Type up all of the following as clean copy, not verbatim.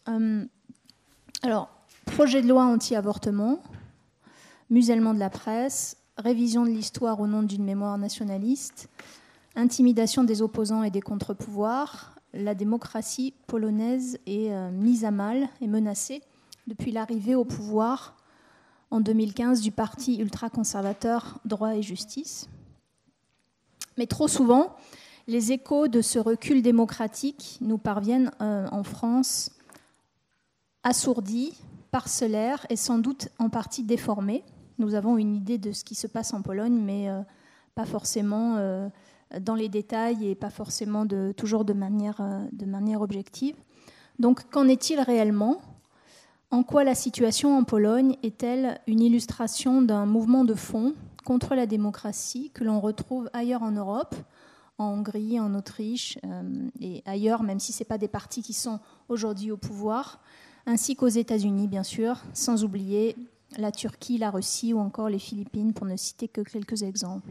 Alors, projet de loi anti-avortement, musellement de la presse, révision de l'histoire au nom d'une mémoire nationaliste, intimidation des opposants et des contre-pouvoirs, la démocratie polonaise est mise à mal et menacée depuis l'arrivée au pouvoir en 2015 du parti ultra-conservateur Droit et Justice. Mais trop souvent, les échos de ce recul démocratique nous parviennent en France assourdis, parcellaires et sans doute en partie déformés. Nous avons une idée de ce qui se passe en Pologne, mais pas forcément dans les détails et pas forcément toujours de manière objective. Donc, qu'en est-il réellement ? En quoi la situation en Pologne est-elle une illustration d'un mouvement de fond contre la démocratie que l'on retrouve ailleurs en Europe, en Hongrie, en Autriche et ailleurs, même si ce n'est pas des partis qui sont aujourd'hui au pouvoir, ainsi qu'aux États-Unis, bien sûr, sans oublier la Turquie, la Russie ou encore les Philippines, pour ne citer que quelques exemples.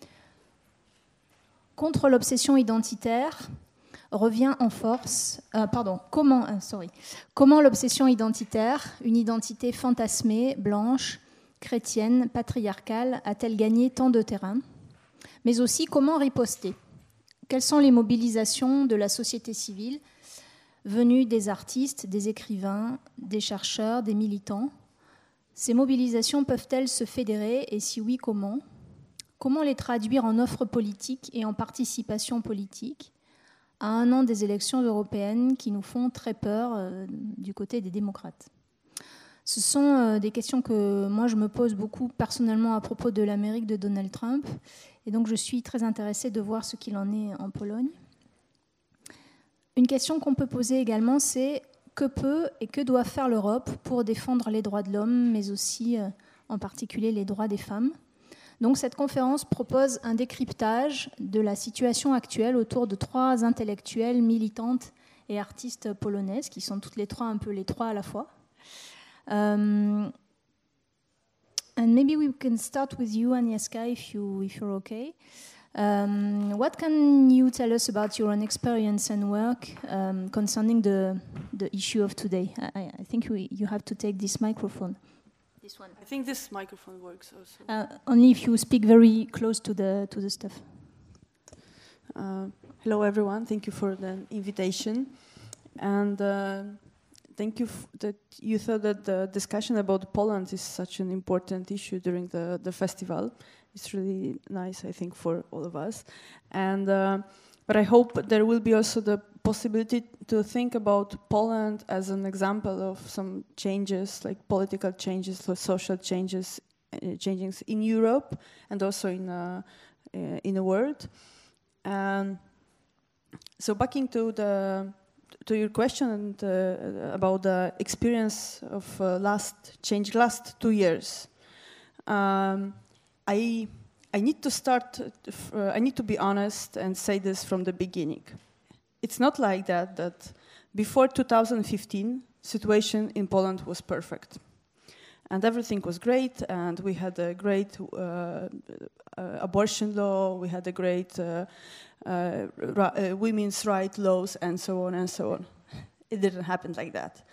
Contre l'obsession identitaire revient en force... Comment l'obsession identitaire, une identité fantasmée, blanche, chrétienne, patriarcale, a-t-elle gagné tant de terrain ? Mais aussi, comment riposter ? Quelles sont les mobilisations de la société civile venues des artistes, des écrivains, des chercheurs, des militants ? Ces mobilisations peuvent-elles se fédérer et si oui, comment ? Comment les traduire en offres politiques et en participation politique à un an des élections européennes qui nous font très peur du côté des démocrates ? Ce sont des questions que moi je me pose beaucoup personnellement à propos de l'Amérique de Donald Trump et donc je suis très intéressée de voir ce qu'il en est en Pologne. Une question qu'on peut poser également, c'est que peut et que doit faire l'Europe pour défendre les droits de l'homme, mais aussi en particulier les droits des femmes ? Donc cette conférence propose un décryptage de la situation actuelle autour de 3 intellectuelles, militantes et artistes polonaises, qui sont toutes les 3 un peu les 3 à la fois. And maybe we can start with you, Agnieszka, if you're okay. What can you tell us about your own experience and work concerning the issue of today? I think you have to take this microphone. This one. I think this microphone works also. Only if you speak very close to the stuff. Hello, everyone. Thank you for the invitation, and thank you that you thought that the discussion about Poland is such an important issue during the festival. It's really nice, I think, for all of us, and but I hope there will be also the possibility to think about Poland as an example of some changes, like political changes, social changes, changes in Europe and also in the world. So backing to your question about the experience of last 2 years, I need to start. I need to be honest and say this from the beginning. It's not like that before 2015, situation in Poland was perfect. And everything was great, and we had a great abortion law, we had a great women's rights laws, and so on and so on. It didn't happen like that.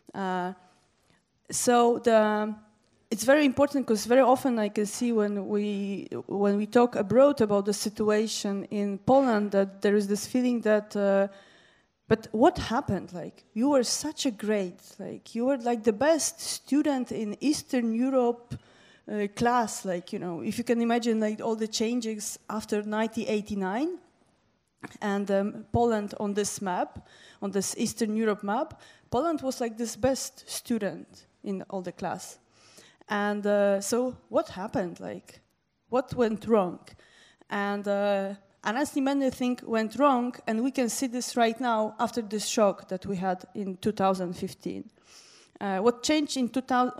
It's very important because very often I can see when we talk abroad about the situation in Poland that there is this feeling that but what happened? Like, you were such a great, like, you were like the best student in Eastern Europe class, like, you know, if you can imagine like all the changes after 1989 and Poland on this map, on this Eastern Europe map, Poland was like this best student in all the class. And so what happened? Like, what went wrong? And honestly, many things went wrong, and we can see this right now after this shock that we had in 2015. What changed in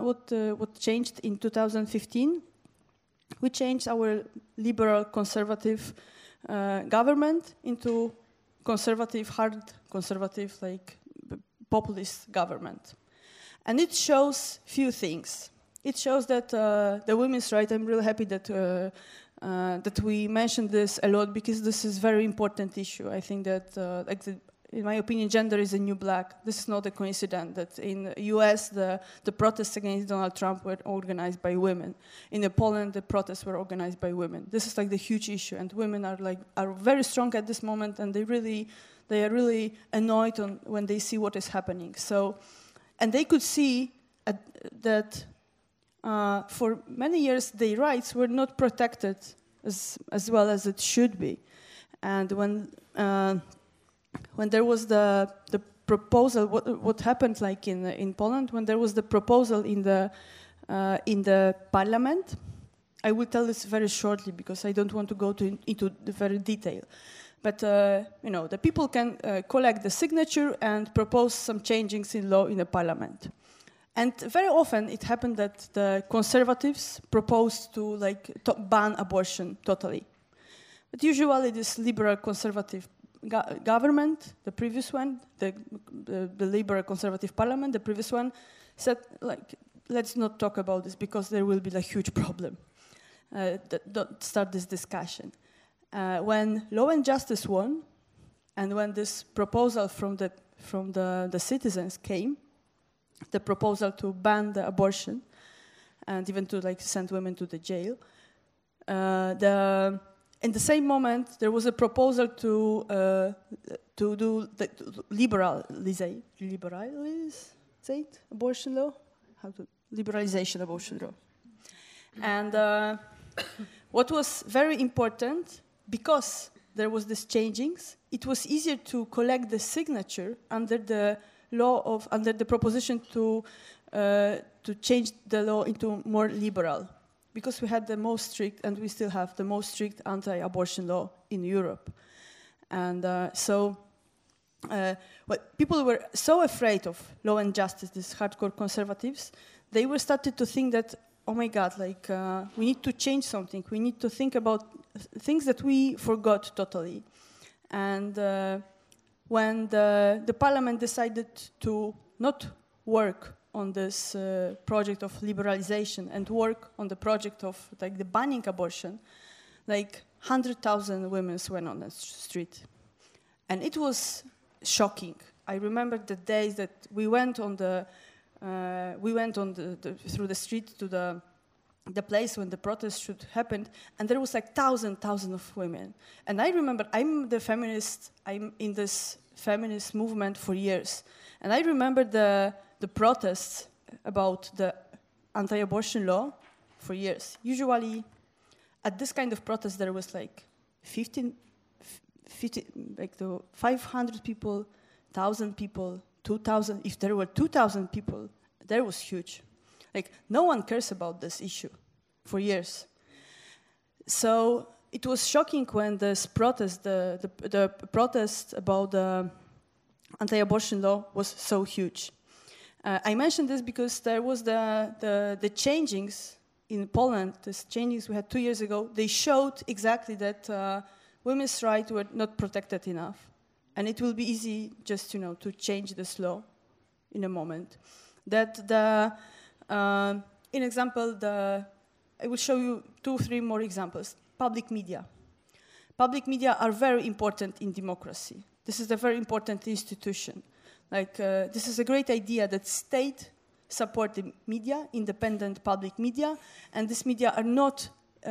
2015? We changed our liberal conservative government into conservative, hard conservative, like populist government, and it shows few things. It shows that the women's rights. I'm really happy that that we mentioned this a lot because this is a very important issue. I think that in my opinion, gender is a new black. This is not a coincidence that in the US, the protests against Donald Trump were organized by women. In Poland, the protests were organized by women. This is like the huge issue, and women are very strong at this moment, and they are really annoyed when they see what is happening. So, and they could see that for many years their rights were not protected as well as it should be. And when there was the proposal, what happened like in Poland, when there was the proposal in the parliament, I will tell this very shortly because I don't want to go into the very detail. But the people can collect the signature and propose some changes in law in the parliament. And very often it happened that the conservatives proposed to ban abortion totally. But usually this liberal conservative government, the previous one, the liberal conservative parliament, the previous one, said let's not talk about this because there will be a huge problem. Don't start this discussion. When Law and Justice won, and when this proposal from the citizens came, the proposal to ban the abortion and even to send women to the jail, in the same moment there was a proposal to do the liberalization abortion law, liberalization abortion law, and what was very important. Because there was this changings, it was easier to collect the signature under the proposition to change the law into more liberal, because we had the most strict, and we still have the most strict anti-abortion law in Europe, and people were so afraid of Law and Justice, these hardcore conservatives, they were started to think that, oh my God, we need to change something. We need to think about things that we forgot totally. And when the parliament decided to not work on this project of liberalization and work on the project of the banning abortion, 100,000 women went on the street. And it was shocking. I remember the days that we went through the street to the place when the protest should happen, and there was thousands of women. And I remember, I'm in this feminist movement for years, and I remember the protests about the anti-abortion law for years. Usually, at this kind of protest, there was 500 people, 1,000 people, 2,000. If there were 2,000 people, that was huge. No one cares about this issue for years. So it was shocking when this protest, the protest about the anti-abortion law was so huge. I mentioned this because there was the changings in Poland, these changes we had 2 years ago, they showed exactly that women's rights were not protected enough. And it will be easy just, to change this law in a moment. In example, I will show you 2-3 more examples. Public media. Public media are very important in democracy. This is a very important institution. This is a great idea that state support the media, independent public media, and this media are not,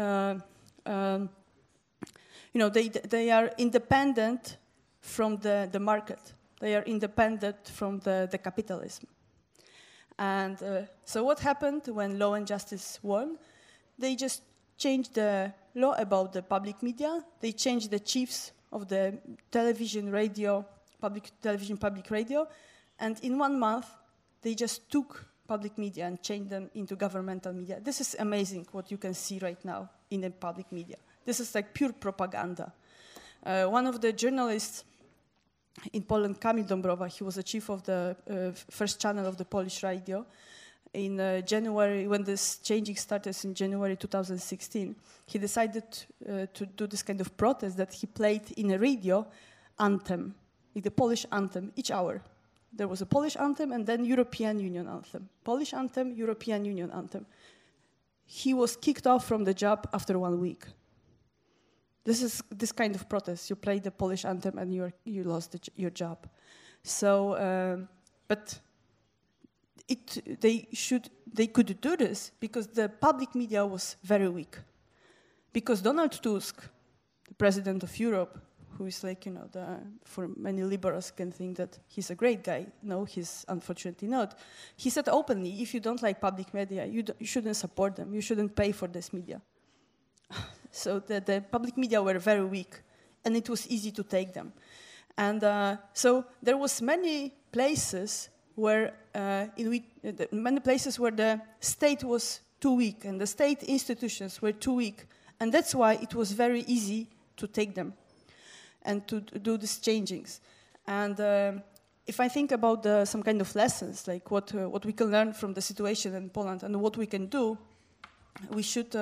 they are independent from the market. They are independent from the capitalism. And so what happened when Law and Justice won? They just changed the law about the public media. They changed the chiefs of the television, radio, public television, public radio. And in 1 month, they just took public media and changed them into governmental media. This is amazing what you can see right now in the public media. This is pure propaganda. One of the journalists in Poland, Kamil Dąbrowa, he was the chief of the first channel of the Polish radio. In January, when this changing started in January 2016, he decided to do this kind of protest that he played in a radio anthem, the Polish anthem, each hour. There was a Polish anthem and then European Union anthem. Polish anthem, European Union anthem. He was kicked off from the job after 1 week. this is this kind of protest. You play the Polish anthem and you lost your job. So, but they could do this because the public media was very weak. Because Donald Tusk, the president of Europe, who is like, for many liberals can think that he's a great guy. No, he's unfortunately not. He said openly, if you don't like public media, you shouldn't support them. You shouldn't pay for this media. So the public media were very weak, and it was easy to take them. And so there was many places where the state was too weak, and the state institutions were too weak, and that's why it was very easy to take them and to do these changings. And if I think about some kind of lessons, like what we can learn from the situation in Poland and what we can do, we should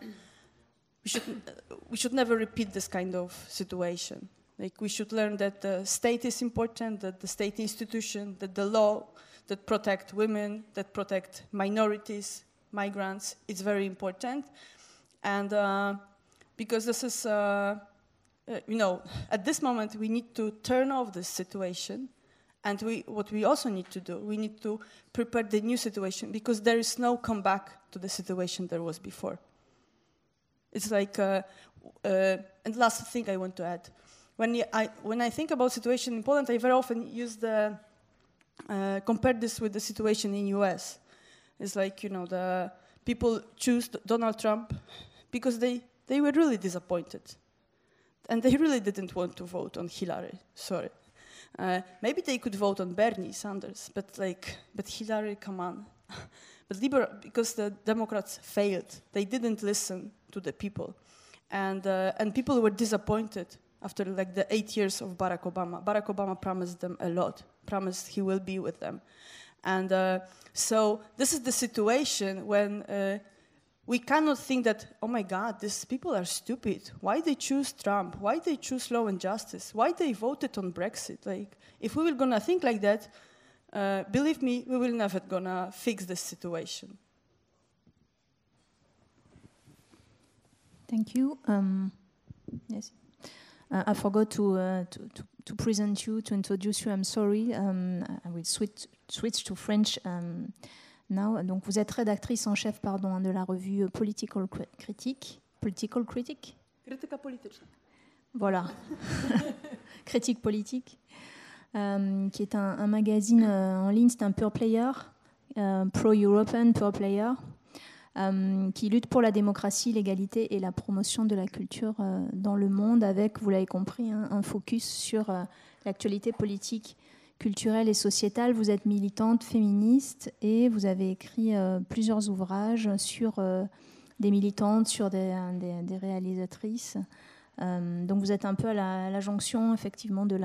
never repeat this kind of situation. Like we should learn that the state is important, that the state institution, that the law that protect women, that protect minorities, migrants, is very important. And because this is, at this moment we need to turn off this situation. And what we also need to do, we need to prepare the new situation because there is no comeback to the situation there was before. It's like, and last thing I want to add. When I think about situation in Poland, I very often use compare this with the situation in US. It's like, the people choose Donald Trump because they were really disappointed. And they really didn't want to vote on Hillary, sorry. Maybe they could vote on Bernie Sanders, but Hillary, come on. But because the Democrats failed, they didn't listen to the people. And people were disappointed after the 8 years of Barack Obama. Barack Obama promised them a lot, promised he will be with them. And so this is the situation when we cannot think that, oh my God, these people are stupid. Why they choose Trump? Why they choose law and justice? Why they voted on Brexit? Like, if we were gonna think like that, believe me, we will never gonna fix this situation. Thank you. Yes. I forgot to present you, to introduce you. I'm sorry. I will switch to French now. Donc, vous êtes rédactrice en chef, de la revue Political Critique. Political Critique. Krytyka polityczna. Voilà. Critique politique, qui est un magazine en ligne. C'est un pure player, pro-European pure player. Qui lutte pour la démocratie, l'égalité et la promotion de la culture dans le monde avec, vous l'avez compris, un focus sur l'actualité politique, culturelle et sociétale. Vous êtes militante féministe et vous avez écrit plusieurs ouvrages sur des militantes, sur des réalisatrices. Donc vous êtes un peu à la jonction effectivement de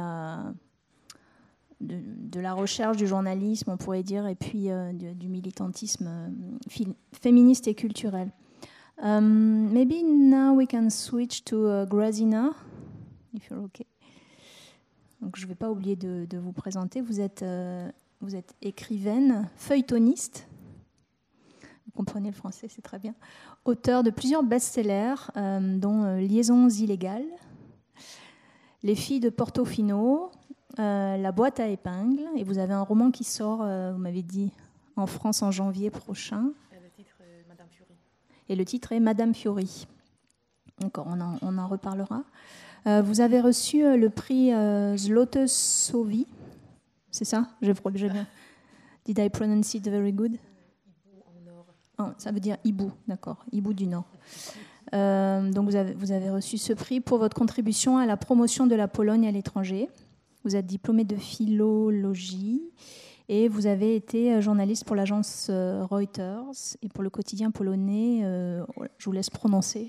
la recherche, du journalisme, on pourrait dire, et puis du militantisme féministe et culturel. Maybe now we can switch to Grazina, if you're okay. Donc, je ne vais pas oublier de vous présenter. Vous êtes écrivaine, feuilletoniste. Vous comprenez le français, c'est très bien. Auteur de plusieurs best-sellers, dont Liaisons illégales, Les filles de Portofino, La boîte à épingles, et vous avez un roman qui sort, vous m'avez dit, en France en janvier prochain. Et le titre est Madame Fiori. Et le titre est Madame Fiori. Encore, on en reparlera. Vous avez reçu le prix Złote-Sowi, c'est ça? J'ai bien. Did I pronounce it very good? Hibou en or. Oh, ça veut dire hibou, d'accord, hibou du Nord. Donc vous avez reçu ce prix pour votre contribution à la promotion de la Pologne à l'étranger. Vous êtes diplômé de philologie et vous avez été journaliste pour l'agence Reuters et pour le quotidien polonais, je vous laisse prononcer.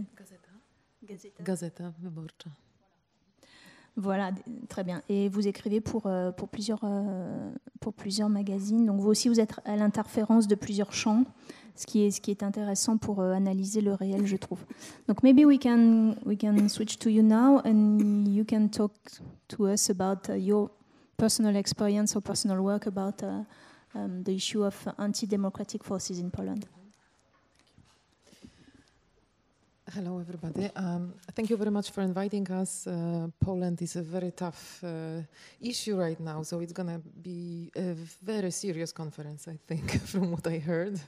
Gazeta Wyborcza. Voilà, très bien. Et vous écrivez pour plusieurs magazines. Donc vous aussi, vous êtes à l'interférence de plusieurs champs, ce qui est intéressant pour analyser le réel, je trouve. Donc maybe we can switch to you now and you can talk to us about your personal experience or personal work about the issue of anti-democratic forces in Poland. Hello, everybody. Thank you very much for inviting us. Poland is a very tough issue right now, so it's going to be a very serious conference, I think, from what I heard.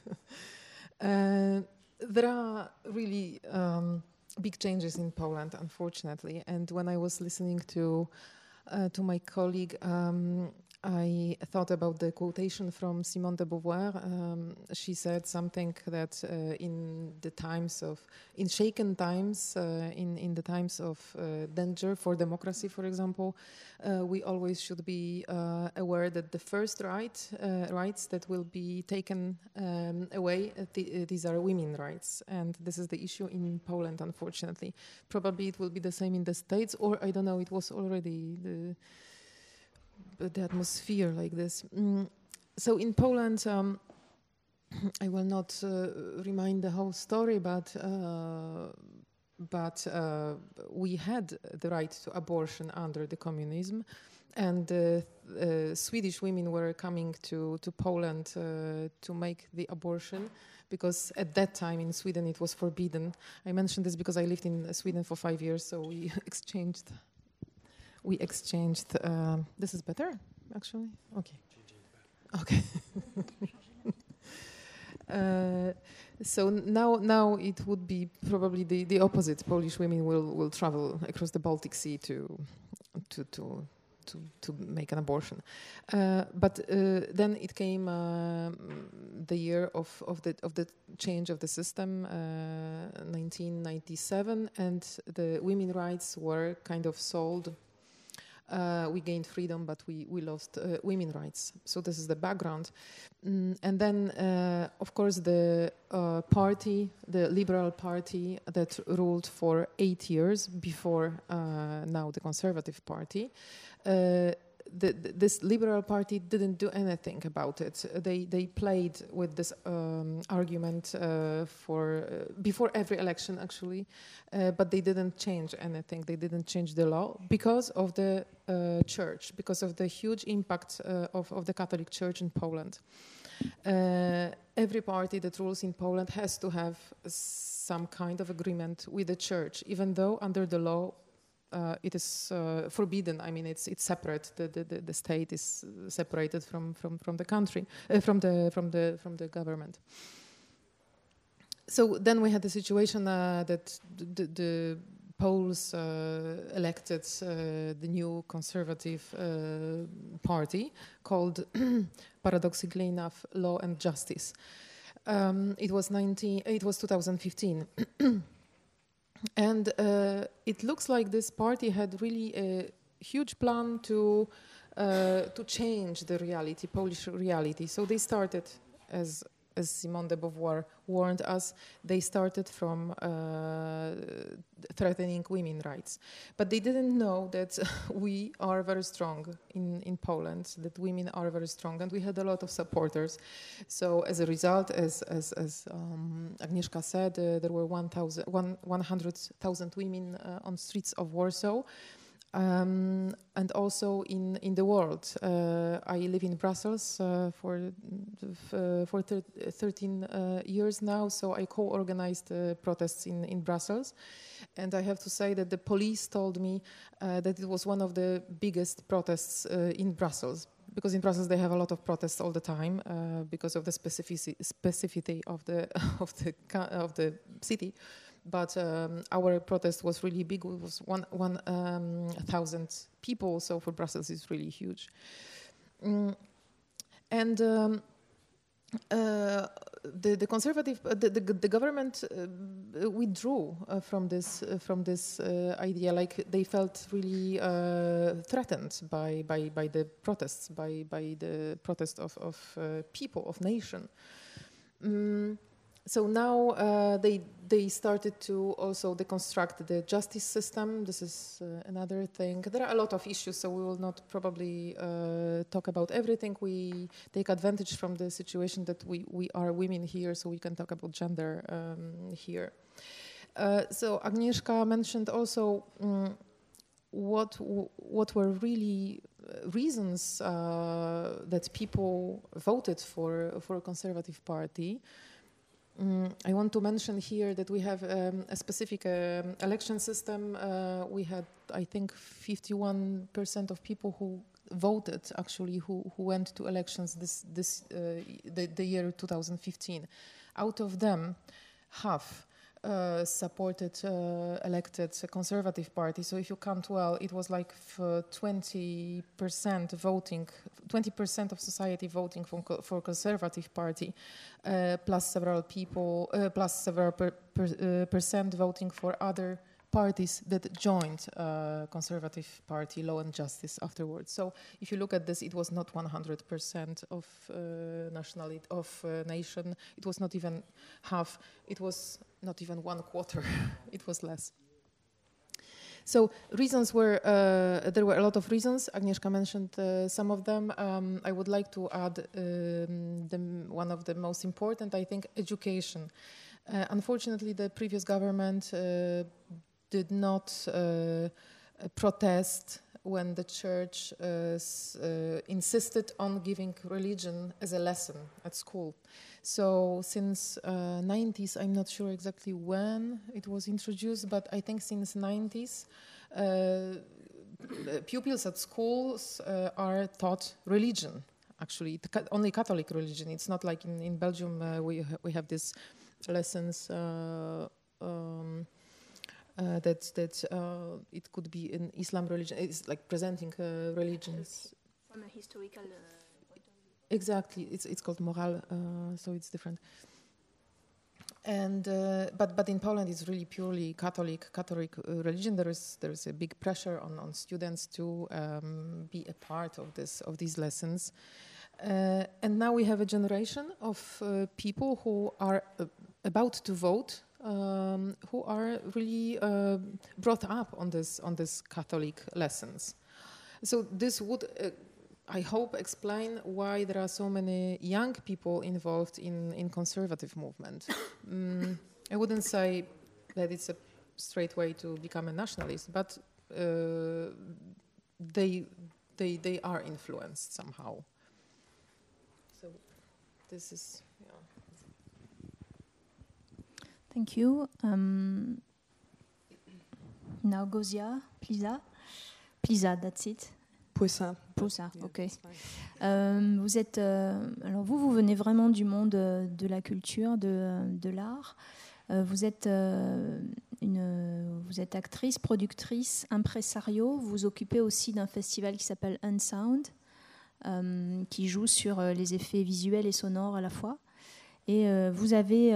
There are really big changes in Poland, unfortunately. And when I was listening to my colleague, I thought about the quotation from Simone de Beauvoir. She said something that in shaken times, in the times of danger for democracy, for example, we always should be aware that the first rights that will be taken away, these are women's rights. And this is the issue in Poland, unfortunately. Probably it will be the same in the States, or I don't know, it was already the atmosphere like this. So in Poland, I will not remind the whole story, but we had the right to abortion under the communism, and Swedish women were coming to Poland to make the abortion, because at that time in Sweden it was forbidden. I mentioned this because I lived in Sweden for 5 years, so we exchanged. This is better, actually? Okay. Okay. So now it would be probably the opposite. Polish women will travel across the Baltic Sea to make an abortion. But then it came the year of the change of the system, 1997, and the women's rights were kind of sold. We gained freedom, but we lost women's rights. So this is the background. And then, of course, the party, the Liberal Party that ruled for 8 years before now the Conservative Party, this Liberal Party didn't do anything about it. They played with this argument before every election, actually, but they didn't change anything. They didn't change the law because of the church, because of the huge impact of the Catholic Church in Poland. Every party that rules in Poland has to have some kind of agreement with the church, even though under the law it is forbidden. I mean, it's separate. The state is separated from the country, from the government. So then we had the situation that the Poles elected the new conservative party called, paradoxically enough, Law and Justice. It was 2015. And it looks like this party had really a huge plan to change the reality, Polish reality. So they started, as Simone de Beauvoir warned us, they started from threatening women's rights. But they didn't know that we are very strong in Poland, that women are very strong, and we had a lot of supporters. So as a result, as Agnieszka said, there were 100,000 women on streets of Warsaw. And also in the world. I live in Brussels for 13 years now, so I co-organized protests in Brussels. And I have to say that the police told me that it was one of the biggest protests in Brussels, because in Brussels they have a lot of protests all the time because of the specificity of the city. But our protest was really big. It was 1,000 people, so for Brussels it's really huge. And the conservative, the government withdrew from this idea. Like they felt really threatened by the protests, by the protest of people, of nation. So now they started to also deconstruct the justice system. This is another thing. There are a lot of issues, so we will not probably talk about everything. We take advantage from the situation that we are women here, so we can talk about gender here. So Agnieszka mentioned also what were really reasons that people voted for a conservative party. I want to mention here that we have a specific election system. We had, I think, 51% of people who voted, actually, who went to elections the year 2015. Out of them, half supported elected Conservative Party. So if you count well, it was like 20% voting, 20% of society voting for Conservative Party, plus several people, plus several percent voting for other parties that joined Conservative Party, Law and Justice afterwards. So if you look at this, it was not 100% of nationality of nation. It was not even half. It was not even 1/4. It was less. So reasons were, there were a lot of reasons. Agnieszka mentioned some of them. I would like to add one of the most important, I think, education. Unfortunately, the previous government did not protest when the church insisted on giving religion as a lesson at school. So since 90s, I'm not sure exactly when it was introduced, but I think since 90s, pupils at schools are taught religion, actually, only Catholic religion. It's not like in Belgium we have these lessons that it could be in Islam religion. It's like presenting religions from a historical point of view. Exactly, it's called morale, so it's different. And but in Poland, it's really purely Catholic religion. There is a big pressure on students to be a part of these lessons. And now we have a generation of people who are about to vote, who are really brought up on this Catholic lessons. So this would, I hope, explain why there are so many young people involved in conservative movement. I wouldn't say that it's a straight way to become a nationalist, but they are influenced somehow. So this is, yeah. Thank you. Now Gozia, Pliza, that's it. Poussa. Poussa, ok. Vous êtes, alors vous venez vraiment du monde de la culture, de l'art. Vous êtes actrice, productrice, impresario. Vous vous occupez aussi d'un festival qui s'appelle Unsound, qui joue sur les effets visuels et sonores à la fois. Et vous avez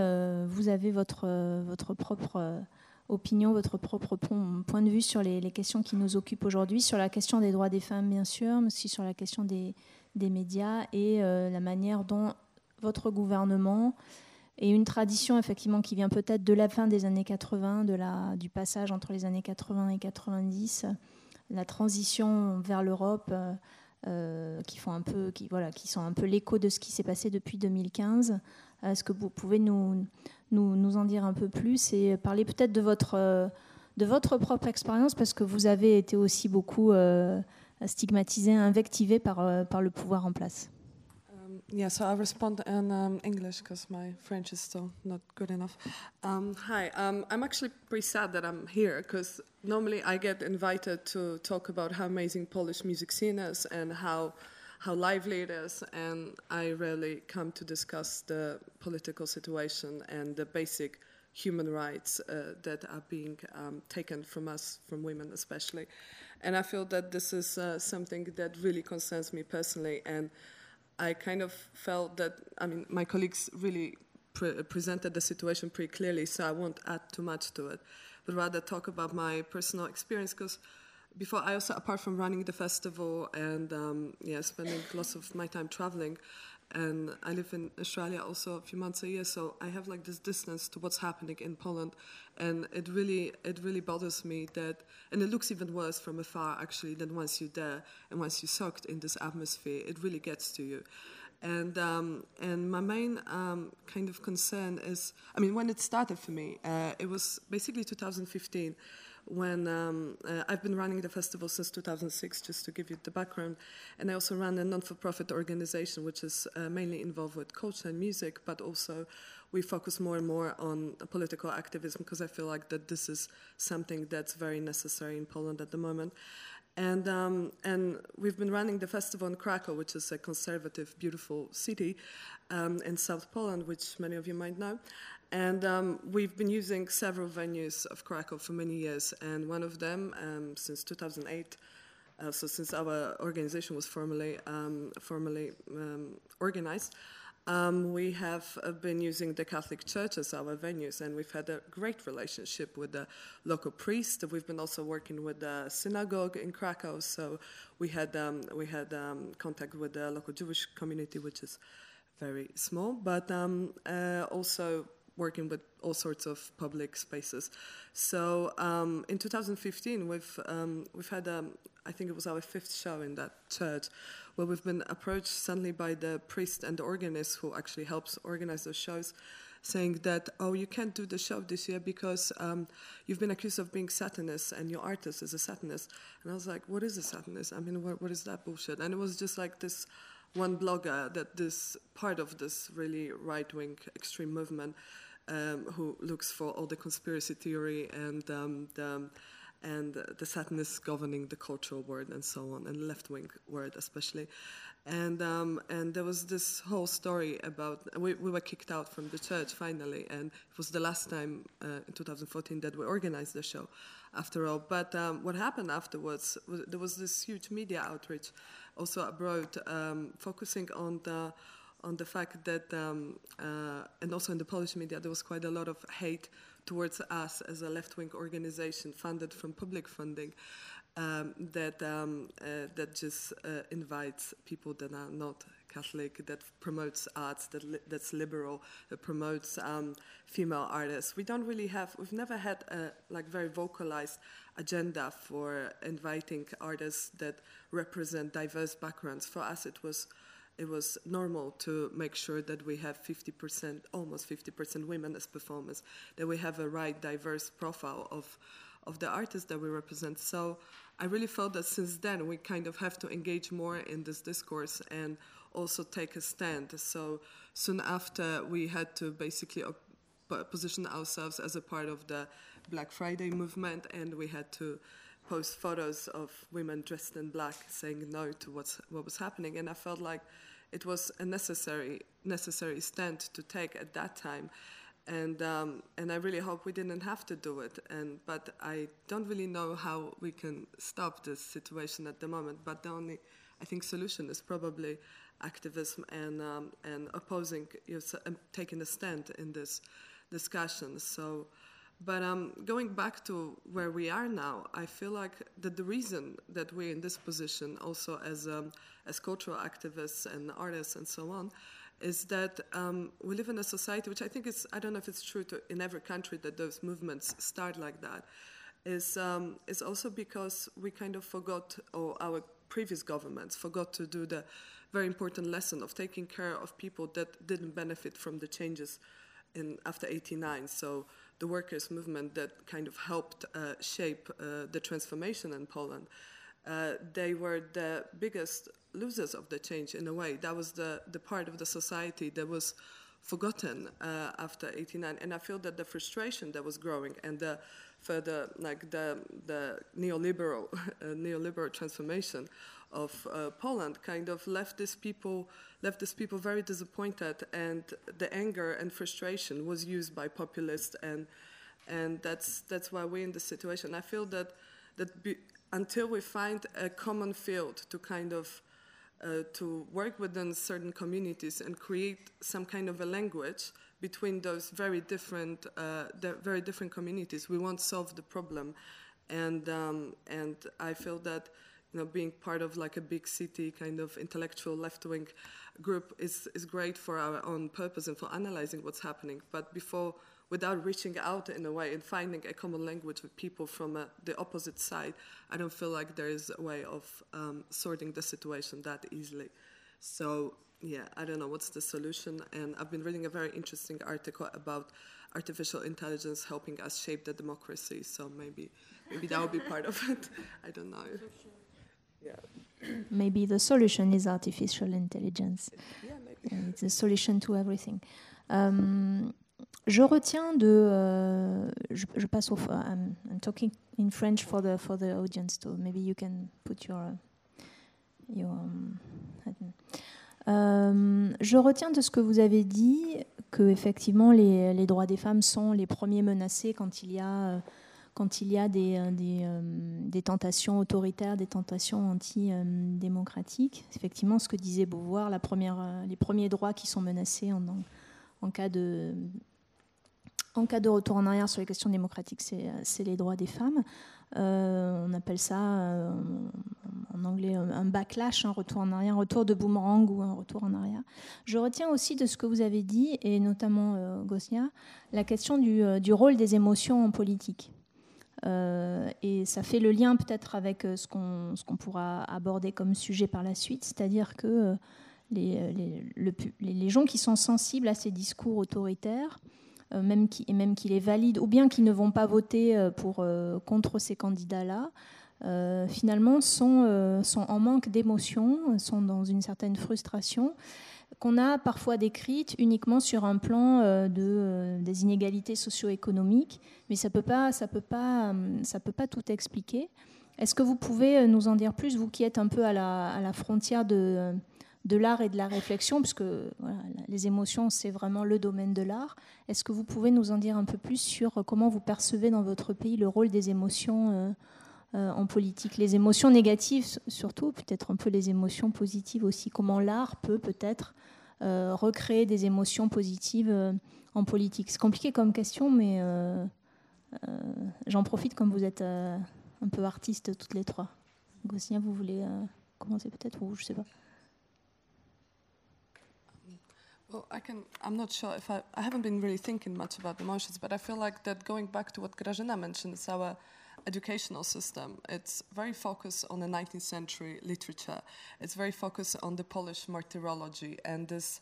votre propre opinion, votre propre point de vue sur les questions qui nous occupent aujourd'hui, sur la question des droits des femmes, bien sûr, mais aussi sur la question des médias et la manière dont votre gouvernement et une tradition, effectivement, qui vient peut-être de la fin des années 80, du passage entre les années 80 et 90, la transition vers l'Europe, qui sont un peu l'écho de ce qui s'est passé depuis 2015. Est-ce que vous pouvez nous en dire un peu plus et parler peut-être de votre propre expérience, parce que vous avez été aussi beaucoup stigmatisé, invectivé par le pouvoir en place. Yeah, so I'll respond in English because my French is still not good enough. Hi, I'm actually pretty sad that I'm here because normally I get invited to talk about how amazing Polish music scene is and how lively it is, and I rarely come to discuss the political situation and the basic human rights that are being taken from us, from women especially. And I feel that this is something that really concerns me personally, and I kind of felt that, I mean, my colleagues really presented the situation pretty clearly, so I won't add too much to it, but rather talk about my personal experience, because before, I also, apart from running the festival and spending lots of my time traveling, and I live in Australia also a few months a year, so I have like this distance to what's happening in Poland, and it really bothers me that, and it looks even worse from afar actually than once you're there and once you're soaked in this atmosphere, it really gets to you. And my main kind of concern is, I mean, when it started for me, it was basically 2015, when I've been running the festival since 2006, just to give you the background, and I also run a non-for-profit organization which is mainly involved with culture and music, but also we focus more and more on political activism because I feel like that this is something that's very necessary in Poland at the moment. And we've been running the festival in Krakow, which is a conservative, beautiful city in South Poland, which many of you might know. And we've been using several venues of Krakow for many years, and one of them since 2008. So since our organization was formally organized, we have been using the Catholic Church as our venues, and we've had a great relationship with the local priest. We've been also working with the synagogue in Krakow, so we had contact with the local Jewish community, which is very small, but also working with all sorts of public spaces. So in 2015, we've had I think it was our 5th show in that church, where we've been approached suddenly by the priest and the organist who actually helps organize those shows, saying that, oh, you can't do the show this year because you've been accused of being Satanist and your artist is a Satanist. And I was like, what is a Satanist? I mean, what is that bullshit? And it was just like this one blogger that this part of this really right-wing extreme movement who looks for all the conspiracy theory and the Satanists governing the cultural world and so on, and left-wing world especially. And there was this whole story about, we were kicked out from the church finally, and it was the last time in 2014 that we organized the show after all. But what happened afterwards, there was this huge media outreach also abroad, focusing on the fact that, and also in the Polish media, there was quite a lot of hate towards us as a left-wing organization funded from public funding that just invites people that are not Catholic, that promotes arts, that's liberal, that promotes female artists. We've never had a very vocalized agenda for inviting artists that represent diverse backgrounds. For us, it was normal to make sure that we have 50%, almost 50% women as performers, that we have a right diverse profile of the artists that we represent. So I really felt that since then we kind of have to engage more in this discourse and also take a stand. So soon after we had to basically position ourselves as a part of the Black Friday movement, and we had to post photos of women dressed in black saying no to what was happening. And I felt like it was a necessary stand to take at that time. And I really hope we didn't have to do it. But I don't really know how we can stop this situation at the moment. But the only, I think, solution is probably activism and opposing, taking a stand in this discussion. So, but going back to where we are now, I feel like that the reason that we're in this position, also as cultural activists and artists and so on, is that we live in a society which I think is, I don't know if it's true in every country that those movements start like that, is also because we kind of forgot, or our previous governments forgot to do the very important lesson of taking care of people that didn't benefit from the changes after '89. So the workers' movement that kind of helped shape the transformation in Poland, they were the biggest losers of the change in a way. That was the part of the society that was forgotten after '89. And I feel that the frustration that was growing and the further, like the neoliberal transformation of Poland kind of left these people very disappointed, and the anger and frustration was used by populists, and that's why we're in this situation. I feel that until we find a common field to kind of to work within certain communities and create some kind of a language between those very different communities, we won't solve the problem. And I feel that being part of like a big city kind of intellectual left-wing group is great for our own purpose and for analyzing what's happening. But without reaching out in a way and finding a common language with people from the opposite side, I don't feel like there is a way of sorting the situation that easily. So yeah, I don't know what's the solution. And I've been reading a very interesting article about artificial intelligence helping us shape the democracy. So maybe that will be part of it. I don't know. Yeah. Maybe the solution is artificial intelligence. Yeah, maybe. It's a solution to everything. Je retiens de. Je passe au. I'm talking in French for the audience too. Maybe you can put your. Je retiens de ce que vous avez dit que effectivement les droits des femmes sont les premiers menacés quand il y a des tentations autoritaires, des tentations antidémocratiques. Effectivement, ce que disait Beauvoir, les premiers droits qui sont menacés en cas de retour en arrière sur les questions démocratiques, c'est les droits des femmes. On appelle ça en anglais un backlash, un retour en arrière, un retour de boomerang ou un retour en arrière. Je retiens aussi de ce que vous avez dit, et notamment Gosnia, la question du rôle des émotions en politique. Et ça fait le lien peut-être avec ce qu'on pourra aborder comme sujet par la suite, c'est-à-dire que les gens qui sont sensibles à ces discours autoritaires, même qui les valident, ou bien qui ne vont pas voter contre ces candidats-là, finalement sont en manque d'émotion, sont dans une certaine frustration qu'on a parfois décrite uniquement sur un plan des inégalités socio-économiques, mais ça peut pas tout expliquer. Est-ce que vous pouvez nous en dire plus, vous qui êtes un peu à la frontière de l'art et de la réflexion, puisque voilà, les émotions, c'est vraiment le domaine de l'art. Est-ce que vous pouvez nous en dire un peu plus sur comment vous percevez dans votre pays le rôle des émotions en politique, les émotions négatives surtout, peut-être un peu les émotions positives aussi, comment l'art peut peut-être recréer des émotions positives en politique. C'est compliqué comme question, mais j'en profite comme vous êtes un peu artistes toutes les trois. Gosnia, vous voulez commencer peut-être, ou je ne sais pas. Well, I'm not sure if I haven't been really thinking much about emotions, but I feel like that going back to what Grażyna mentioned, is our educational system. It's very focused on the 19th century literature. It's very focused on the Polish martyrology and this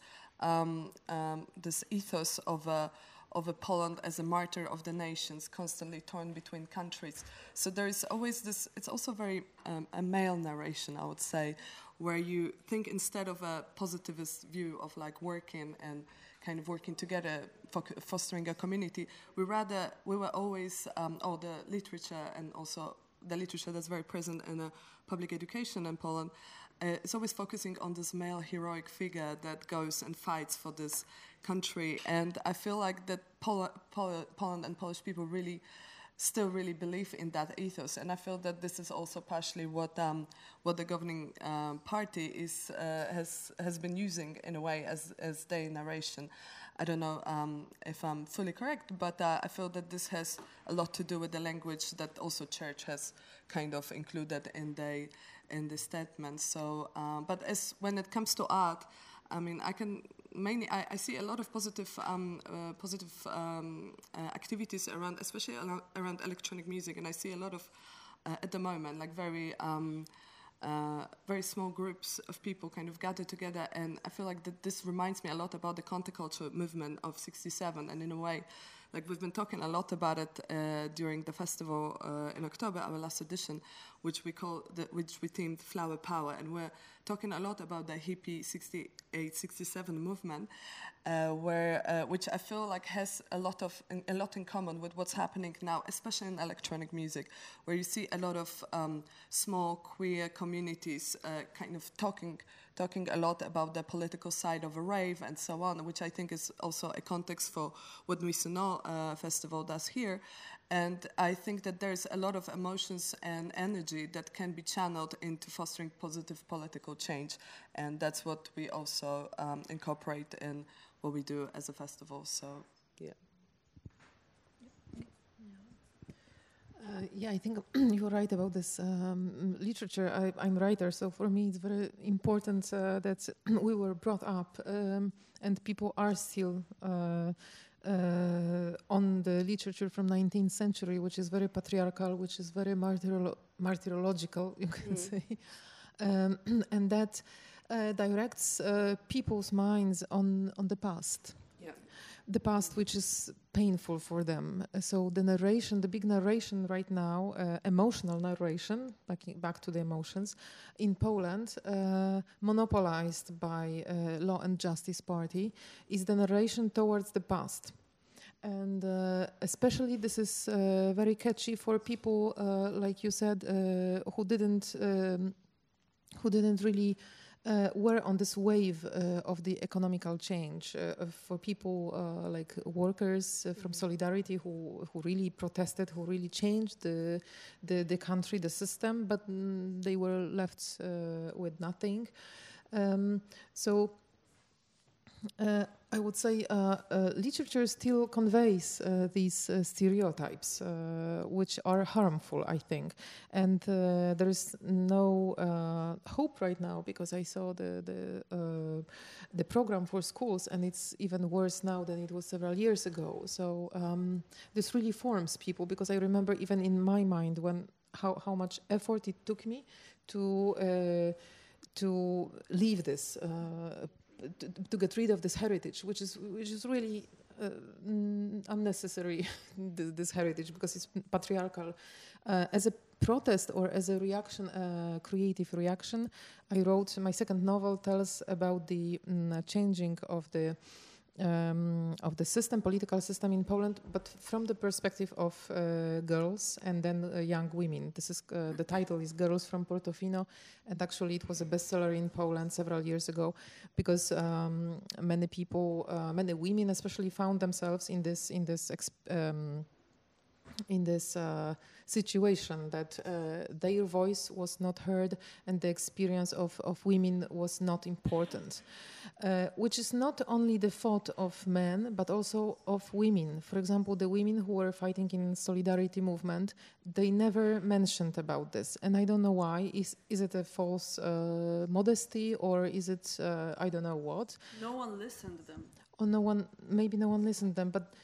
ethos of a Poland as a martyr of the nations, constantly torn between countries. So there is always this, it's also very a male narration, I would say, where you think instead of a positivist view of like working and kind of working together, fostering a community, we were always, the literature and also the literature that's very present in public education in Poland, it's always focusing on this male heroic figure that goes and fights for this country. And I feel like that Poland and Polish people still really believe in that ethos, and I feel that this is also partially what the governing party has been using in a way as their narration. I don't know if I'm fully correct, but I feel that this has a lot to do with the language that also Church has kind of included in the statement. So, but when it comes to art, I mean, I see a lot of positive activities around, especially around electronic music, and I see a lot of at the moment like very small groups of people kind of gather together, and I feel like that this reminds me a lot about the counterculture movement of '67, and in a way, like we've been talking a lot about it during the festival in October, our last edition, which we themed Flower Power, and we're talking a lot about the hippie 68, 67 movement, which I feel like has a lot in common with what's happening now, especially in electronic music, where you see a lot of small queer communities kind of talking a lot about the political side of a rave and so on, which I think is also a context for what Nuit Sonore Festival does here. And I think that there's a lot of emotions and energy that can be channeled into fostering positive political change. And that's what we also incorporate in what we do as a festival. So, yeah. I think you're right about this literature. I'm a writer, so for me it's very important that we were brought up and people are still on the literature from 19th century, which is very patriarchal, which is very martyrological, you can say. And that directs people's minds on the past. The past, which is painful for them. So the narration, the big narration right now, emotional narration, back to the emotions, in Poland, monopolized by Law and Justice Party, is the narration towards the past. And especially this is very catchy for people, like you said, who didn't really were on this wave of the economical change. For people like workers from Solidarity who really protested, who really changed the country, the system, but they were left with nothing. So I would say literature still conveys these stereotypes, which are harmful, I think. And there is no hope right now, because I saw the program for schools, and it's even worse now than it was several years ago. So this really forms people, because I remember even in my mind how much effort it took me to leave this. To get rid of this heritage, which is really unnecessary. This heritage, because it's patriarchal. As a protest or as a reaction, creative reaction, I wrote my second novel. Tells about the changing of the system, political system in Poland, but from the perspective of girls and then young women. This is the title is Girls from Portofino, and actually it was a bestseller in Poland several years ago, because many people, many women especially, found themselves in this situation that their voice was not heard and the experience of women was not important, which is not only the fault of men but also of women. For example, the women who were fighting in Solidarity movement, they never mentioned about this, and I don't know why. Is it a false modesty, or is it I don't know what? No one listened to them. Or maybe no one listened to them, but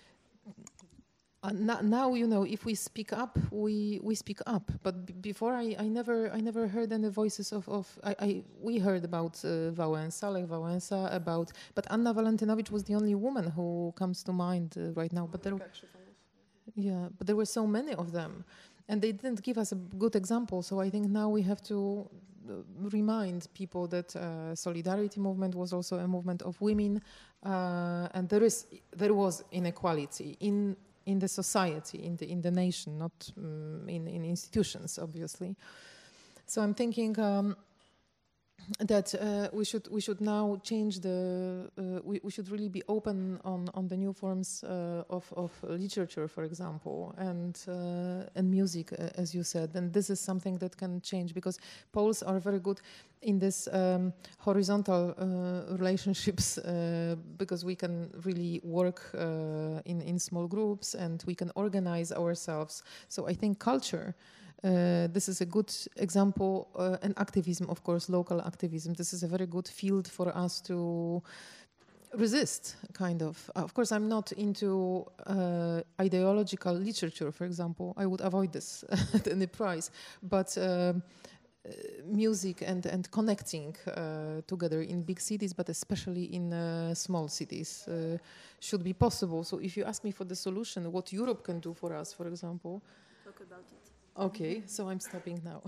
now, you know, if we speak up, we speak up. But before, I never heard any voices we heard about Wałęsa, Lech Wałęsa, but Anna Walentynowicz was the only woman who comes to mind right now. But there were so many of them, and they didn't give us a good example. So I think now we have to remind people that Solidarity movement was also a movement of women, and there was inequality in the society, in the nation, not in institutions, obviously. So I'm thinking that we should now change we should really be open on the new forms of literature, for example, and music, as you said. And this is something that can change, because Poles are very good in this horizontal relationships, because we can really work in small groups and we can organize ourselves. So I think culture, this is a good example, and activism, of course, local activism. This is a very good field for us to resist, kind of. Of course, I'm not into ideological literature, for example. I would avoid this at any price. But music and connecting together in big cities, but especially in small cities, should be possible. So if you ask me for the solution, what Europe can do for us, for example. Talk about it. Okay, so I'm stopping now.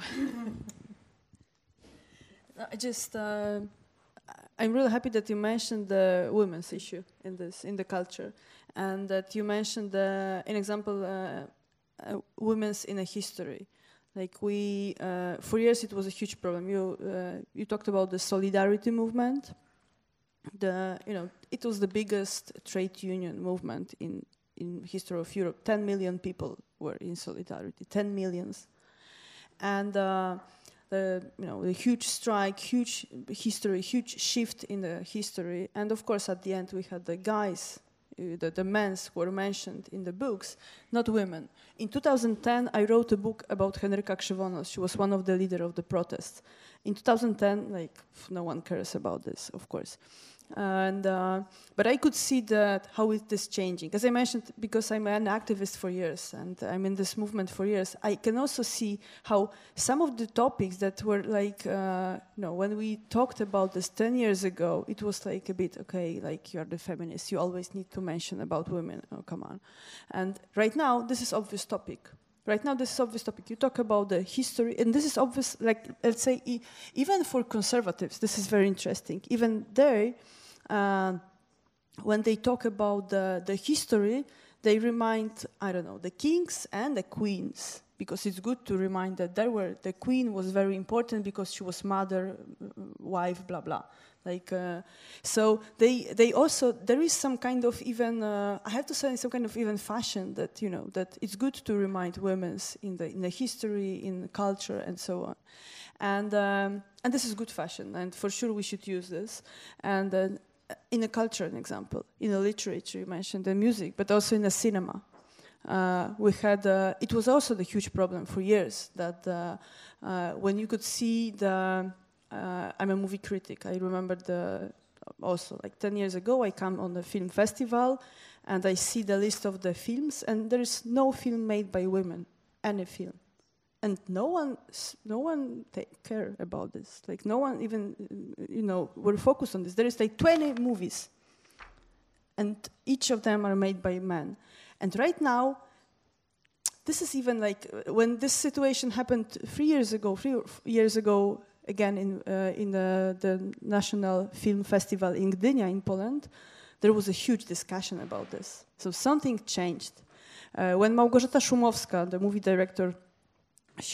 I'm really happy that you mentioned the women's issue in the culture, and that you mentioned an example, women's in a history. Like for years it was a huge problem. You talked about the Solidarity movement. It was the biggest trade union movement in history of Europe. 10 million people were in Solidarity, 10 millions. And the huge strike, huge history, huge shift in the history. And of course, at the end, we had the guys, the men were mentioned in the books, not women. In 2010, I wrote a book about Henryka Krzywonos. She was one of the leaders of the protests. In 2010, no one cares about this, of course. And but I could see that how it is changing. As I mentioned, because I'm an activist for years and I'm in this movement for years, I can also see how some of the topics that were like, when we talked about this 10 years ago, it was like a bit, okay, like you're the feminist, you always need to mention about women, oh, come on. And right now, this is obvious topic. Right now, this is obvious topic. You talk about the history, and this is obvious, like, let's say, even for conservatives, this is very interesting. Even there, when they talk about the history, they remind, I don't know, the kings and the queens, because it's good to remind that the queen was very important because she was mother, wife, blah, blah. Like, so they also, there is some kind of even, I have to say, some kind of even fashion that, that it's good to remind women's in the history, in the culture, and so on. And this is good fashion, and for sure we should use this. And in a culture, an example, in the literature, you mentioned the music, but also in the cinema. We had, it was also the huge problem for years that when you could see I'm a movie critic. I remember also like 10 years ago, I come on the film festival and I see the list of the films and there is no film made by women, any film. And no one care about this. Like no one even, were focused on this. There is like 20 movies and each of them are made by men. And right now, this is even like, when this situation happened 3 years ago, again in the National Film Festival in Gdynia in Poland, there was a huge discussion about this. So something changed. When Małgorzata Szumowska, the movie director, she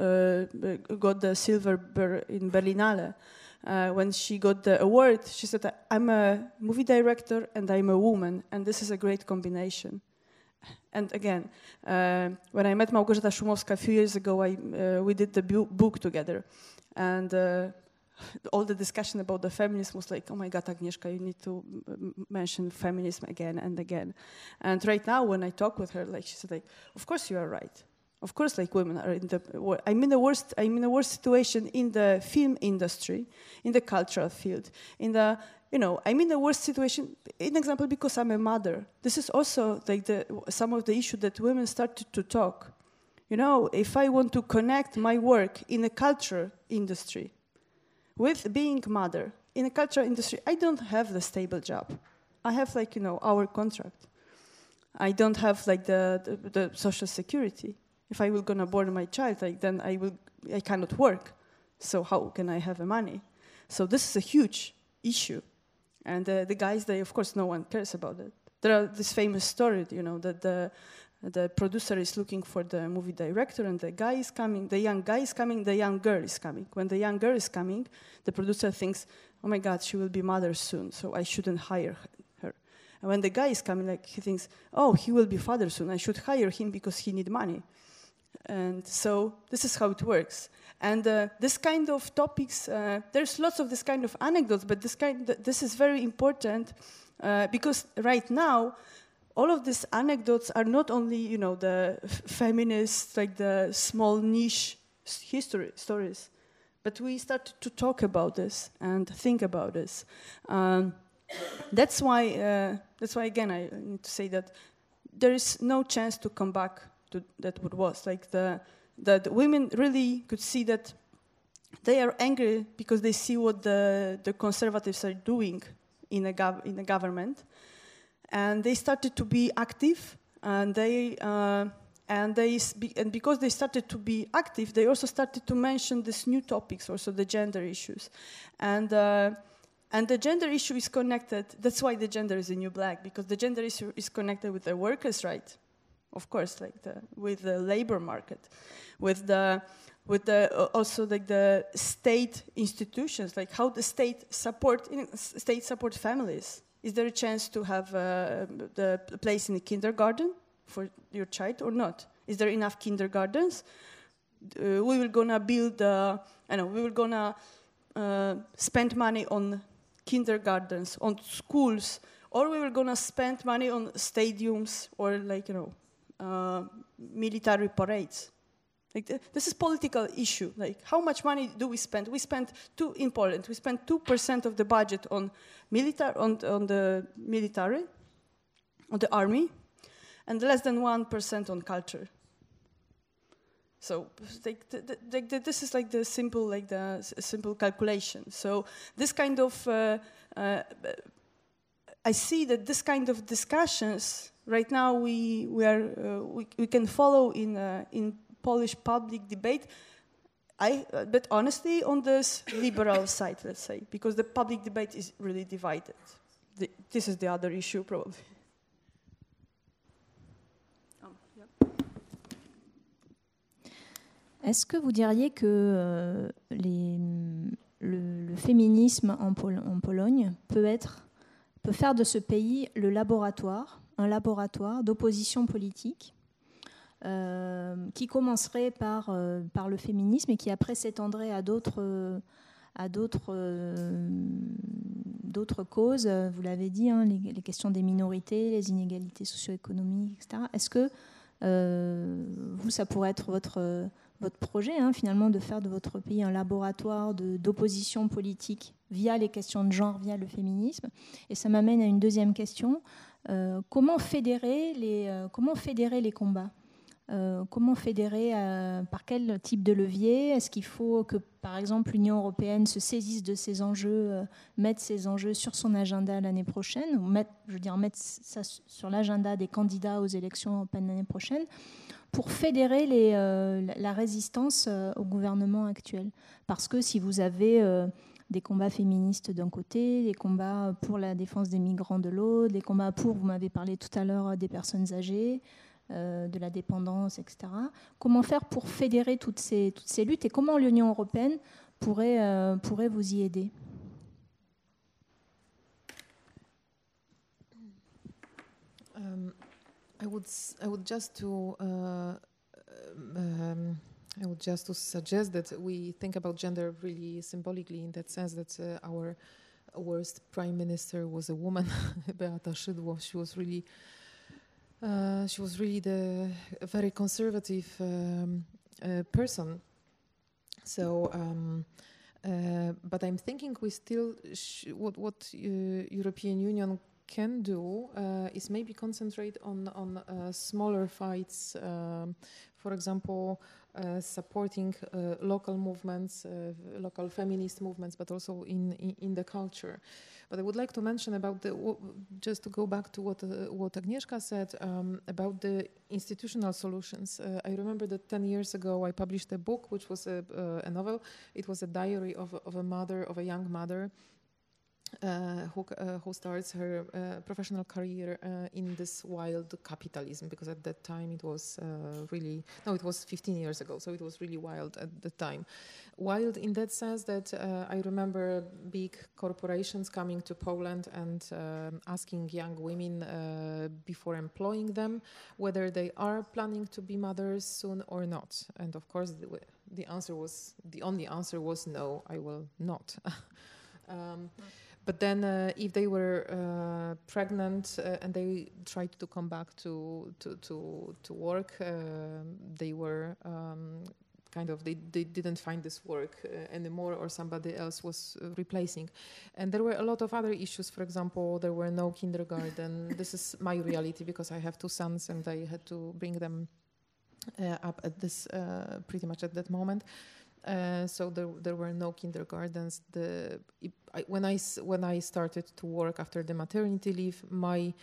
got the Silver Bear in Berlinale, when she got the award, she said, I'm a movie director and I'm a woman, and this is a great combination. And again, when I met Małgorzata Szumowska a few years ago, we did the book together. And all the discussion about the feminism was like, oh my God, Agnieszka, you need to mention feminism again and again. And right now, when I talk with her, like she said, like, of course you are right. Of course, like women are I'm in the worst situation in the film industry, in the cultural field, I'm in the worst situation, an example, because I'm a mother. This is also like some of the issues that women started to talk. If I want to connect my work in a culture industry with being mother, in a cultural industry, I don't have the stable job. I have our contract. I don't have the social security. If I will gonna born my child, then I cannot work. So how can I have the money? So this is a huge issue. And the guys, of course, no one cares about it. There are this famous story, that the producer is looking for the movie director and the guy is coming, the young guy is coming, the young girl is coming. When the young girl is coming, the producer thinks, oh my God, she will be mother soon, so I shouldn't hire her. And when the guy is coming, he thinks, oh, he will be father soon, I should hire him because he needs money. And so this is how it works. And this kind of topics, there's lots of this kind of anecdotes, but this is very important because right now, all of these anecdotes are not only, the feminist, like the small niche history stories, but we started to talk about this and think about this. That's why again, I need to say that there is no chance to come back to that what was. Like the women really could see that they are angry because they see what the conservatives are doing in the government. And they started to be active, and because they started to be active, they also started to mention these new topics, also the gender issues, and the gender issue is connected. That's why the gender is the new black, because the gender issue is connected with the workers' right, of course, with the labor market, with also the state institutions, like how the state support families. Is there a chance to have the place in the kindergarten for your child or not? Is there enough kindergartens? We will gonna build, we will gonna spend money on kindergartens, on schools, or we were gonna spend money on stadiums or military parades. This is political issue. Like, how much money do we spend? We spend in Poland. We spend 2% of the budget on the military, on the army, and less than 1% on culture. So, this is like the simple calculation. So, this kind of I see that this kind of discussions right now we can follow in Polish public debate, but honestly on this liberal side, let's say, because the public debate is really divided. This is the other issue probably. Est-ce que vous diriez que le féminisme en Pologne peut faire de ce pays un laboratoire d'opposition politique qui commencerait par le féminisme et qui après s'étendrait à d'autres causes, vous l'avez dit, hein, les questions des minorités, les inégalités socio-économiques, etc. Est-ce que ça pourrait être votre projet, hein, finalement, de faire de votre pays un laboratoire d'opposition politique via les questions de genre, via le féminisme? Et ça m'amène à une deuxième question. Comment fédérer les combats? Comment fédérer, par quel type de levier? Est-ce qu'il faut que, par exemple, l'Union européenne se saisisse de ces enjeux, mette ces enjeux sur son agenda l'année prochaine, ou mettre ça sur l'agenda des candidats aux élections européennes l'année prochaine, pour fédérer la résistance au gouvernement actuel? Parce que si vous avez des combats féministes d'un côté, des combats pour la défense des migrants de l'autre, des combats pour, vous m'avez parlé tout à l'heure, des personnes âgées, de la dépendance, etc. Comment faire pour fédérer toutes ces luttes et comment l'Union européenne pourrait vous y aider? I would just to suggest that we think about gender really symbolically, in that sense that our worst prime minister was a woman, Beata Szydło. She was really a very conservative person. So, but I'm thinking we still what European Union can do is maybe concentrate on smaller fights. For example, supporting local movements, local feminist movements, but also in the culture. But I would like to mention about just to go back to what Agnieszka said about the institutional solutions. I remember that 10 years ago I published a book, which was a novel. It was a diary of a young mother who starts her professional career in this wild capitalism, because at that time it was it was 15 years ago, so it was really wild at the time. Wild in that sense that I remember big corporations coming to Poland and asking young women before employing them whether they are planning to be mothers soon or not. And of course the only answer was no, I will not. But then, if they were pregnant and they tried to come back to work, they were they didn't find this work anymore, or somebody else was replacing. And there were a lot of other issues. For example, there were no kindergarten. This is my reality because I have two sons and I had to bring them up at this pretty much at that moment. So there were no kindergartens. When I started to work after the maternity leave, my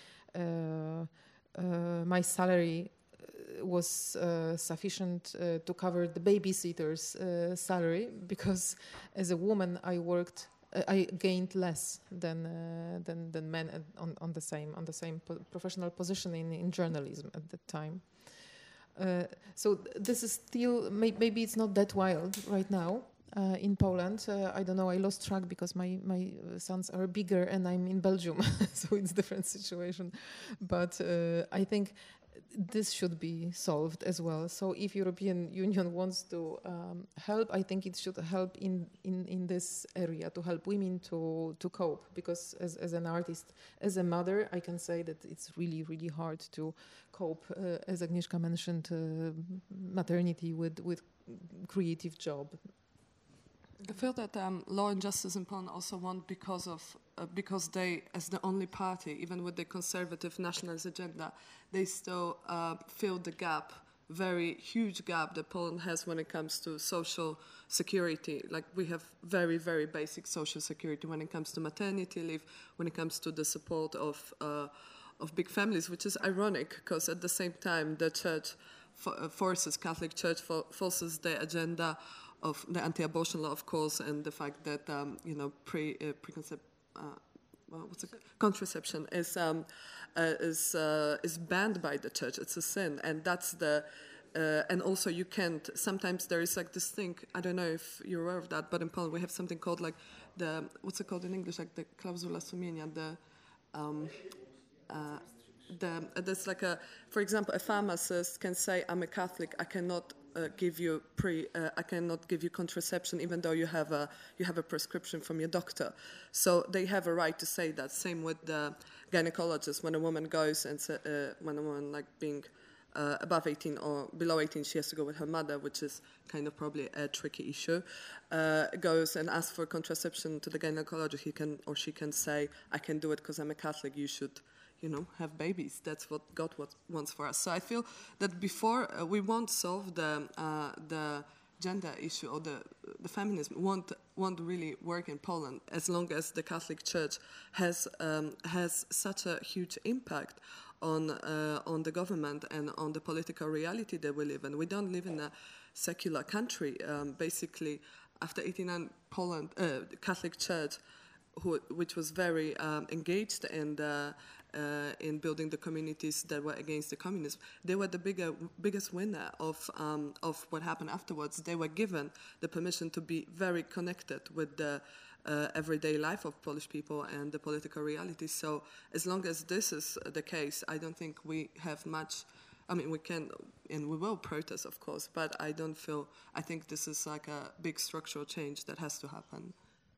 salary was sufficient to cover the babysitter's salary, because as a woman I gained less than men on the same professional position in journalism at that time. So this is still, maybe it's not that wild right now in Poland. I don't know, I lost track because my sons are bigger and I'm in Belgium, so it's a different situation. But I think this should be solved as well. So if European Union wants to help, I think it should help in this area, to help women to cope. Because as an artist, as a mother, I can say that it's really, really hard to cope, as Agnieszka mentioned, maternity with creative job. I feel that Law and Justice in Poland also won because they, as the only party, even with the conservative nationalist agenda, they still fill the gap, very huge gap that Poland has when it comes to social security. Like, we have very, very basic social security when it comes to maternity leave, when it comes to the support of big families, which is ironic because at the same time the church Catholic Church forces the agenda of the anti-abortion law, of course, and the fact that contraception is banned by the church. It's a sin, and that's the. And also, you can't. Sometimes there is like this thing. I don't know if you're aware of that, but in Poland we have something called like what's it called in English? Like the clausula sumienia. There's like for example, a pharmacist can say, "I'm a Catholic. I cannot give you contraception, even though you have a prescription from your doctor." So they have a right to say that. Same with the gynecologist. When a woman goes and when a woman like being above 18 or below 18, she has to go with her mother, which is kind of probably a tricky issue. Goes and asks for contraception to the gynecologist. He can or she can say, "I can do it because I'm a Catholic. You should." Have babies. That's what God wants for us. So I feel that before we won't solve the gender issue or the feminism won't really work in Poland as long as the Catholic Church has such a huge impact on the government and on the political reality that we live in. We don't live in a secular country. Basically, after 1889, Poland, Catholic Church, which was very engaged in building the communities that were against the communism, they were the biggest winner of what happened afterwards. They were given the permission to be very connected with the everyday life of Polish people and the political reality. So as long as this is the case, I don't think we have much. I mean, we can and we will protest, of course, but I think this is like a big structural change that has to happen.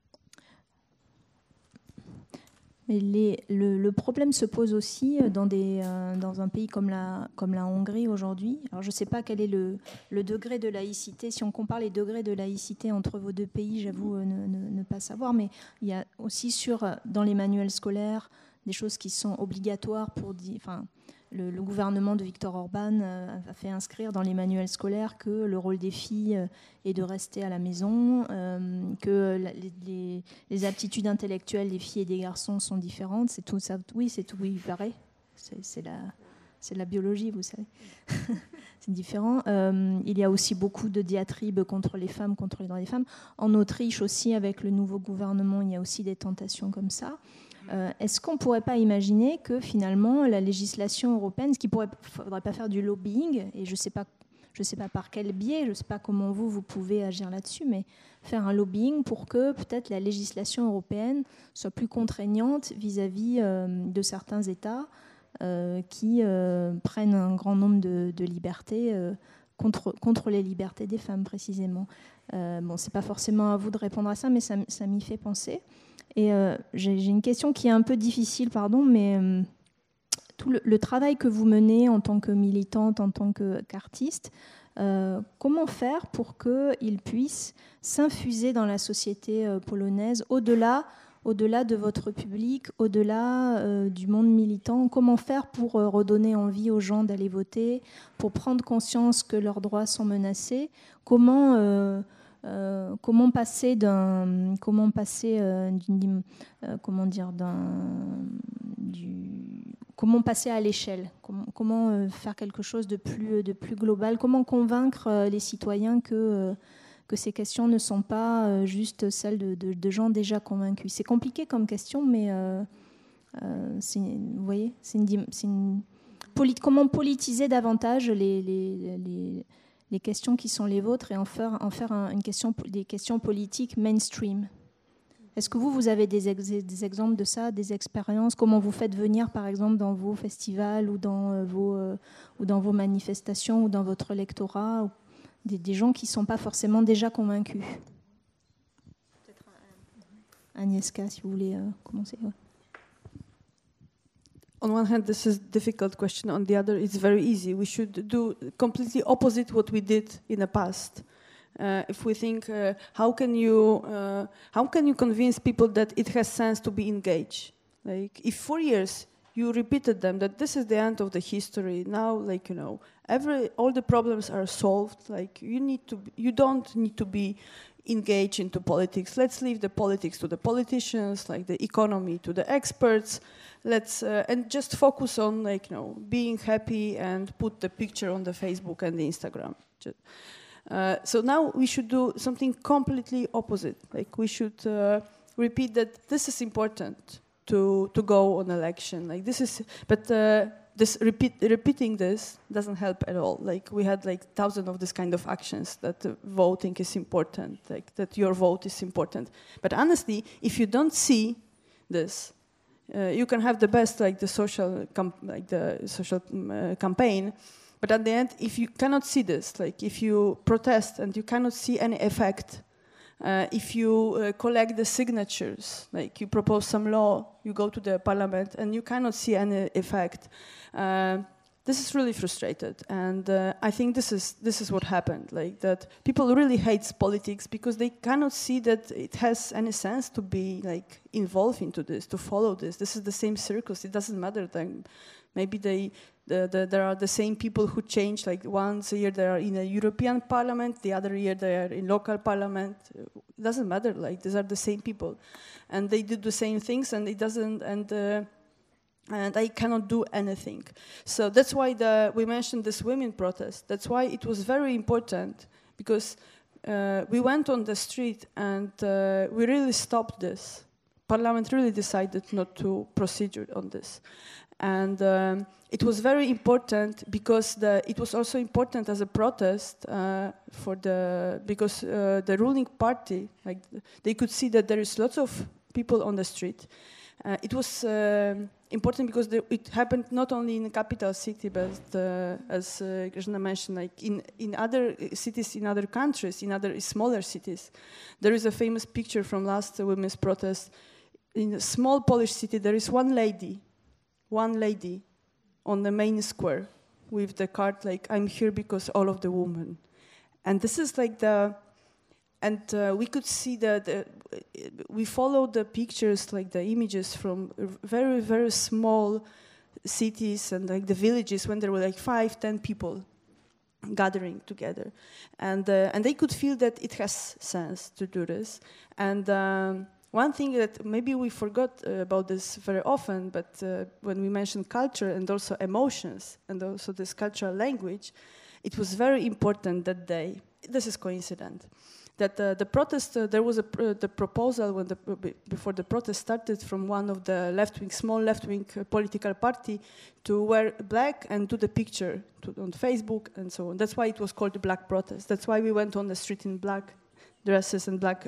Le problème se pose aussi dans un pays comme la Hongrie aujourd'hui. Alors je ne sais pas quel est le degré de laïcité. Si on compare les degrés de laïcité entre vos deux pays, j'avoue ne pas savoir. Mais il y a aussi dans les manuels scolaires des choses qui sont obligatoires pour le gouvernement de Viktor Orban a fait inscrire dans les manuels scolaires que le rôle des filles est de rester à la maison, que les aptitudes intellectuelles des filles et des garçons sont différentes. C'est tout ça. Oui, c'est tout. Oui, pareil. C'est la biologie, vous savez. C'est différent. Il y a aussi beaucoup de diatribes contre les femmes, contre les droits des femmes. En Autriche aussi, avec le nouveau gouvernement, il y a aussi des tentations comme ça. Est-ce qu'on ne pourrait pas imaginer que finalement la législation européenne, il ne faudrait pas faire du lobbying, et je ne sais pas par quel biais, je ne sais pas comment vous pouvez agir là-dessus, mais faire un lobbying pour que peut-être la législation européenne soit plus contraignante vis-à-vis de certains États qui prennent un grand nombre de libertés contre les libertés des femmes précisément. Ce n'est pas forcément à vous de répondre à ça, mais ça m'y fait penser. Et j'ai une question qui est un peu difficile, mais tout le travail que vous menez en tant que militante, en tant qu'artiste, comment faire pour qu'il puisse s'infuser dans la société polonaise, au-delà de votre public, au-delà du monde militant? Comment faire pour redonner envie aux gens d'aller voter, pour prendre conscience que leurs droits sont menacés? Comment passer à l'échelle? Comment faire quelque chose de plus global? Comment convaincre les citoyens que ces questions ne sont pas juste celles de gens déjà convaincus? C'est compliqué comme question, mais vous voyez, comment politiser davantage les questions qui sont les vôtres et en faire des questions politiques mainstream. Est-ce que vous avez des exemples de ça, des expériences? Comment vous faites venir, par exemple, dans vos festivals ou dans vos manifestations ou dans votre lectorat, ou des gens qui ne sont pas forcément déjà convaincus? Peut-être Agnieszka, si vous voulez commencer. Ouais. On one hand, this is a difficult question. On the other, it's very easy. We should do completely opposite what we did in the past. If we think, how can you convince people that it has sense to be engaged? Like, if 4 years you repeated them that this is the end of the history, now, like, all the problems are solved. Like, you don't need to be engaged into politics. Let's leave the politics to the politicians, like the economy to the experts. Let's and just focus on, like, being happy and put the picture on the Facebook and the Instagram. So now we should do something completely opposite. Like, we should repeat that this is important to go on election. Like, this is, but repeating this doesn't help at all. Like, we had like thousands of this kind of actions that voting is important, like that your vote is important. But honestly, if you don't see this, you can have the best, like the social campaign. But at the end, if you cannot see this, like if you protest and you cannot see any effect, if you collect the signatures, like you propose some law, you go to the parliament and you cannot see any effect, this is really frustrated. And I think this is what happened, like that people really hate politics because they cannot see that it has any sense to be like involved into this, to follow this. This is the same circus. It doesn't matter. Then maybe there are the same people who change, like once a year they are in a European parliament, the other year they are in local parliament. It doesn't matter, like these are the same people. And they do the same things and it doesn't, and I cannot do anything. So that's why we mentioned this women protest. That's why it was very important, because we went on the street and we really stopped this. Parliament really decided not to proceed on this. And it was very important because it was also important as a protest because the ruling party, like they could see that there is lots of people on the street. It was important because it happened not only in the capital city, but as Grażyna mentioned, like in other cities, in other countries, in other smaller cities. There is a famous picture from last women's protest. In a small Polish city, there is one lady on the main square with the card like, I'm here because all of the women. And this is like we could see we followed the pictures, like the images from very, very small cities and like the villages when there were like 5-10 people gathering together. And they could feel that it has sense to do this. And one thing that maybe we forgot about this very often, but when we mentioned culture and also emotions and also this cultural language, it was very important that day. This is coincident. That the protest, there was the proposal before the protest started from one of the small left-wing political party to wear black and do the picture on Facebook and so on. That's why it was called the Black Protest. That's why we went on the street in black dresses and black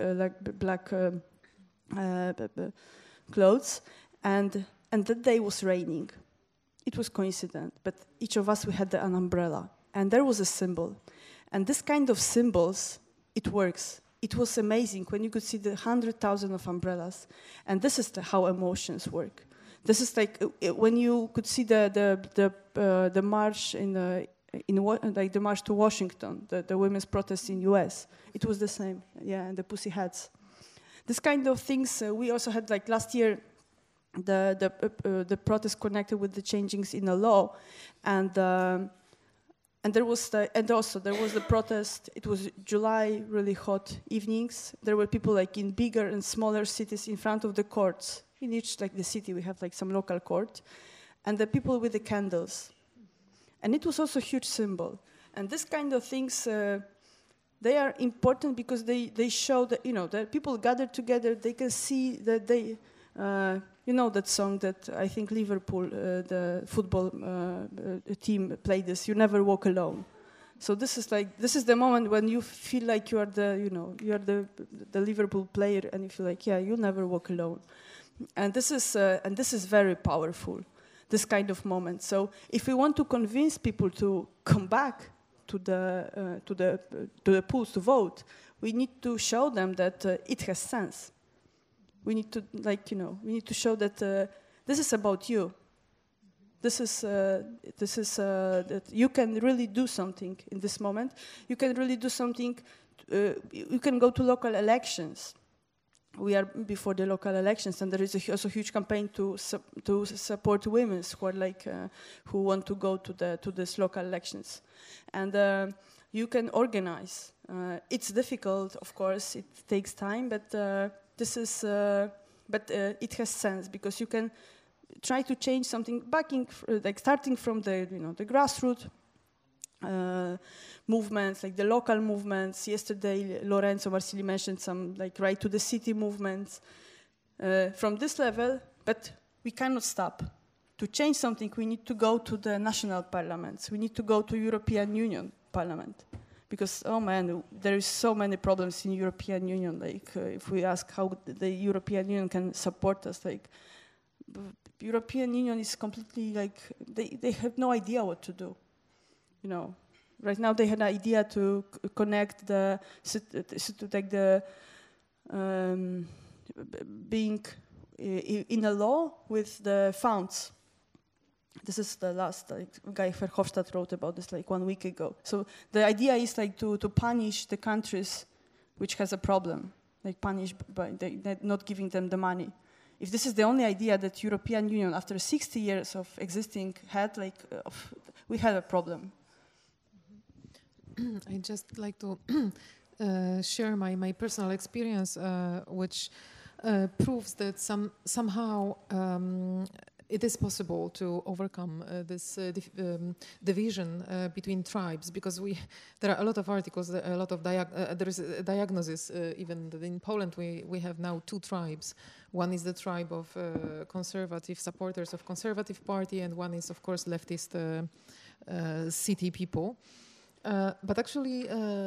clothes, and that day was raining. It was coincident, but each of us, we had an umbrella, and there was a symbol. And this kind of symbols, it works. It was amazing when you could see the 100,000 of umbrellas, and this is how emotions work. This is like when you could see the march like the march to Washington, the women's protest in U.S. It was the same, yeah, and the Pussy Hats. This kind of things we also had, like last year, the protest connected with the changings in the law, and there was the protest. It was July, really hot evenings. There were people like in bigger and smaller cities in front of the courts. In each like the city, we have like some local court, and the people with the candles, and it was also a huge symbol. And this kind of things. They are important because they show that, that people gather together. They can see that they, that song that I think Liverpool, the football team, played this. You never walk alone. So this is the moment when you feel like you are the Liverpool player, and you feel like, yeah, you'll never walk alone. And this is very powerful, this kind of moment. So if we want to convince people to come back to the polls to vote, we need to show them that it has sense. We need to show that this is about you. This is that you can really do something in this moment. You can really do something. You can go to local elections. We are before the local elections, and there is also a huge campaign to support women who are who want to go to these local elections, and you can organize. It's difficult, of course. It takes time, but it has sense, because you can try to change something, starting from the grassroots movements, like the local movements. Yesterday, Lorenzo Marsili mentioned some right to the city movements from this level, but we cannot stop. To change something, we need to go to the national parliaments. We need to go to European Union Parliament, because there is so many problems in European Union. If we ask how the European Union can support us, European Union is completely they have no idea what to do. Right now they had an idea to connect being in a law with the funds. This is the last Guy Verhofstadt wrote about this 1 week ago. So the idea is to punish the countries which has a problem, punish by not giving them the money. If this is the only idea that European Union, after 60 years of existing, had, we have a problem. I'd just like to share my personal experience, which proves that somehow it is possible to overcome this division between tribes, because there are a lot of articles, a lot of there is a diagnosis even that in Poland we have now 2 tribes. One is the tribe of conservative supporters of Conservative Party, and one is, of course, leftist city people. But actually,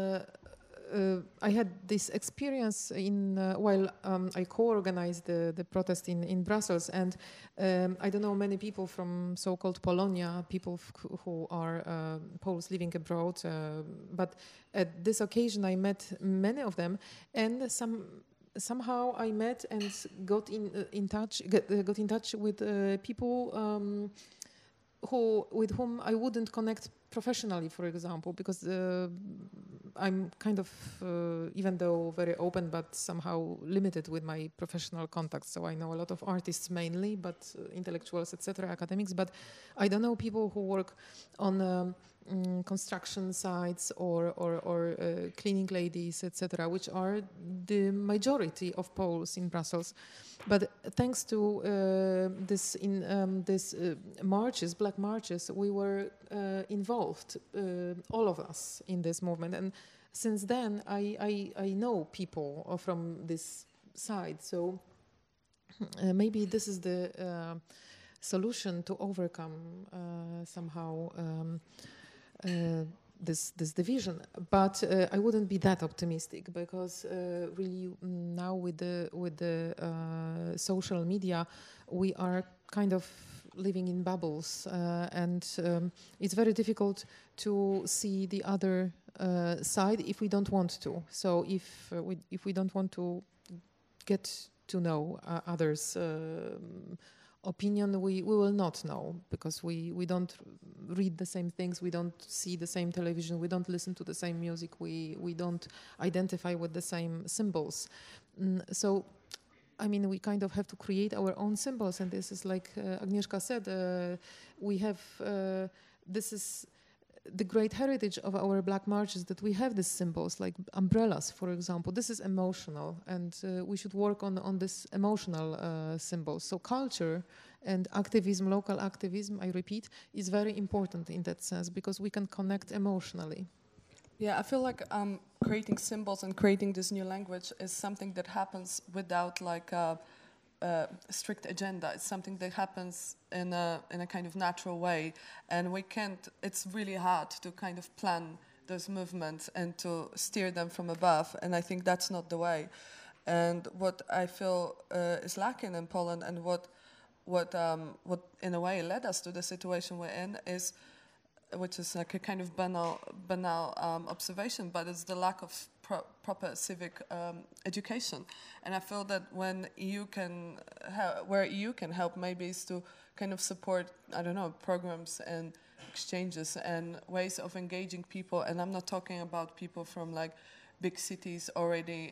I had this experience while I co-organized the protest in Brussels, and I don't know many people from so-called Polonia, people who are Poles living abroad, but at this occasion I met many of them, and somehow I met and got in touch with people with whom I wouldn't connect professionally, for example, because I'm kind of, even though very open, but somehow limited with my professional contacts. So I know a lot of artists mainly, but intellectuals, etc., academics. But I don't know people who work on construction sites or cleaning ladies, etc., which are the majority of Poles in Brussels. But thanks to this marches, black marches, we were involved, all of us, in this movement. And since then, I know people from this side. So maybe this is the solution to overcome somehow this division, but I wouldn't be that optimistic, because really now with the social media, we are kind of living in bubbles, and it's very difficult to see the other side if we don't want to. So if we don't want to get to know others' opinion, we will not know, because we don't read the same things, we don't see the same television, we don't listen to the same music, we don't identify with the same symbols. So I mean, we kind of have to create our own symbols, and this is like Agnieszka said, we have this is the great heritage of our black marches, that we have these symbols like umbrellas, for example. This is emotional, and we should work on this emotional symbols. So culture and activism, local activism, I repeat, is very important in that sense, because we can connect emotionally. Yeah, I feel like creating symbols and creating this new language is something that happens without like a strict agenda. It's something that happens in a kind of natural way, and we can't. It's really hard to kind of plan those movements and to steer them from above. And I think that's not the way. And what I feel is lacking in Poland, and what in a way led us to the situation we're in, is, which is like a kind of banal observation, but it's the lack of proper civic education. And I feel that when EU can, where EU can help, maybe is to kind of support, I don't know, programs and exchanges and ways of engaging people. And I'm not talking about people from like big cities already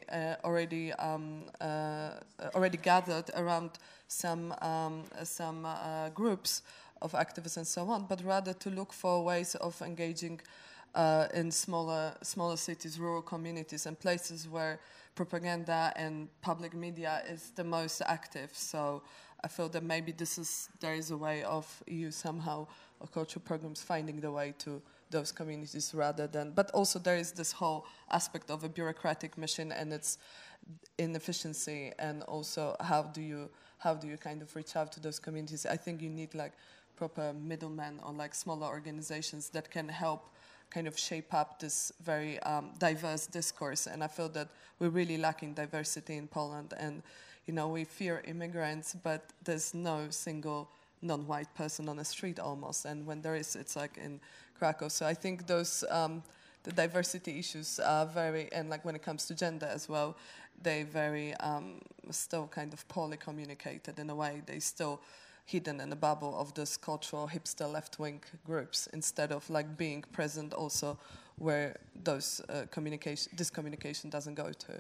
gathered around some groups of activists and so on, but rather to look for ways of engaging in smaller cities, rural communities, and places where propaganda and public media is the most active. So I feel that maybe there is a way of EU somehow, or cultural programs, finding the way to those communities rather than, but also there is this whole aspect of a bureaucratic mission and its inefficiency, and also how do you kind of reach out to those communities. I think you need like proper middlemen or like smaller organizations that can help kind of shape up this very diverse discourse. And I feel that we're really lacking diversity in Poland, and we fear immigrants, but there's no single non-white person on the street almost, and when there is, it's like in Krakow. So I think those the diversity issues are very, and like when it comes to gender as well, they very still kind of poorly communicated in a way. They still hidden in a bubble of this cultural hipster left-wing groups, instead of like being present also where this communication doesn't go to.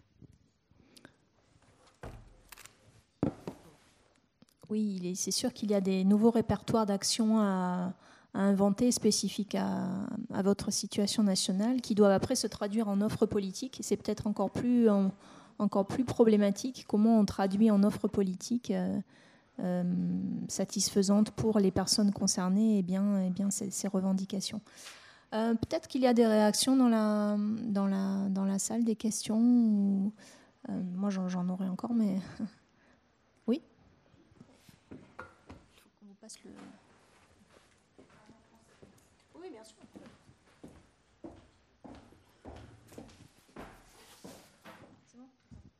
Oui, c'est sûr qu'il y a des nouveaux répertoires d'actions à inventer spécifiques à votre situation nationale, qui doivent après se traduire en offres politiques. Et c'est peut-être encore plus problématique comment on traduit en offres politiques satisfaisantes pour les personnes concernées et bien ces revendications. Peut-être qu'il y a des réactions dans la salle, des questions. Moi, j'en aurais encore, mais oui. Passe le... Oui, bien sûr. C'est bon.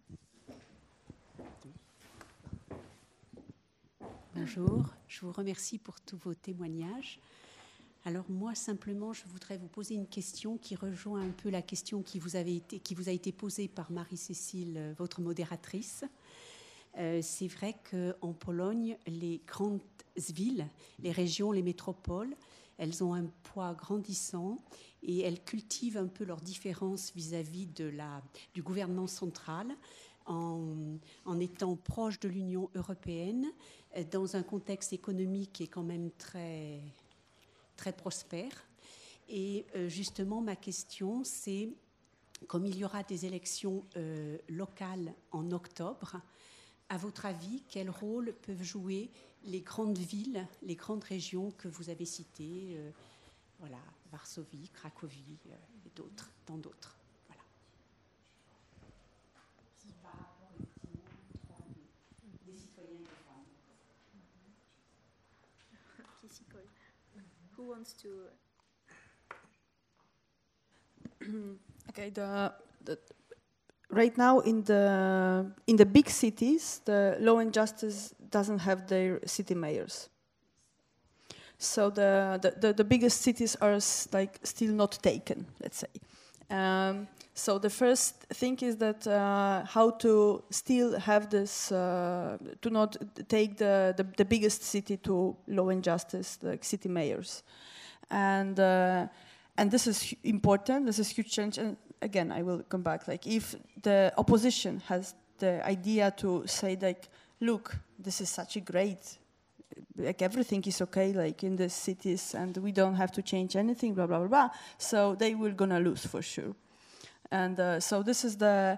Bonjour, je vous remercie pour tous vos témoignages. Alors moi, simplement, je voudrais vous poser une question qui rejoint un peu la question qui vous a été posée par Marie-Cécile, votre modératrice. C'est vrai qu'en Pologne, les grandes villes, les régions, les métropoles, elles ont un poids grandissant et elles cultivent un peu leurs différences vis-à-vis du gouvernement central en étant proches de l'Union européenne, dans un contexte économique qui est quand même très, très prospère. Et justement, ma question, c'est, comme il y aura des élections locales en octobre, à votre avis, quel rôle peuvent jouer les grandes villes, les grandes régions que vous avez citées, Varsovie, Cracovie et d'autres, tant d'autres. Voilà. Par rapport effectivement des citoyens et des femmes. Qui s'y colle. Who wants to... Okay, right now in the big cities, the Law and Justice doesn't have their city mayors. So the biggest cities are like still not taken, let's say. So the first thing is that how to still have this, to not take the biggest city to Law and Justice, like city mayors. And this is important, this is huge change. And again, I will come back. Like, if the opposition has the idea to say, like, look, this is such a great, like, everything is okay, like, in the cities, and we don't have to change anything, blah, blah, blah, blah. So they will gonna lose for sure. And so this is the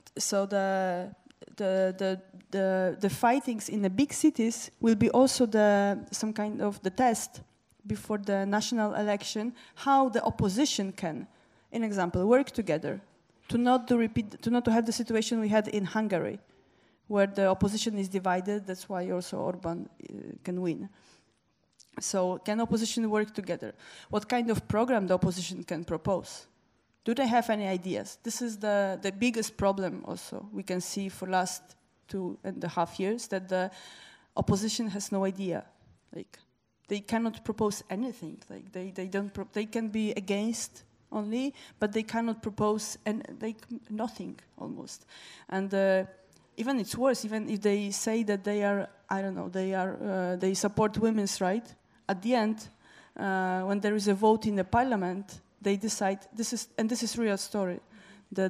fightings in the big cities will be also some kind of the test before the national election, how the opposition can, in example, work together to not to have the situation we had in Hungary, where the opposition is divided. That's why also Orban can win. So can opposition work together? What kind of program the opposition can propose? Do they have any ideas? This is the biggest problem also we can see for last 2.5 years, that the opposition has no idea. Like, they cannot propose anything. Like, they can be against only, but they cannot propose nothing almost. And even it's worse, even if they say that they are, I don't know, they support women's rights, at the end, when there is a vote in the parliament, they decide, this is real story. The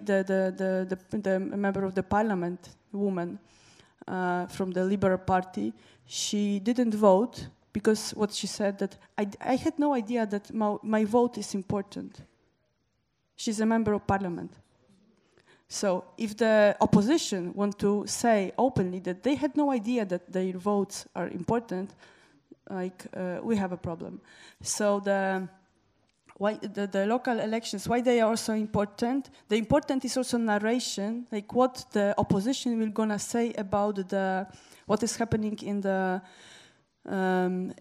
member of the parliament, woman from the Liberal Party, she didn't vote because what she said, that I had no idea that my vote is important. She's a member of parliament. So if the opposition want to say openly that they had no idea that their votes are important, like we have a problem. So the local elections, why they are also important? The important is also narration, like what the opposition will gonna say about what is happening on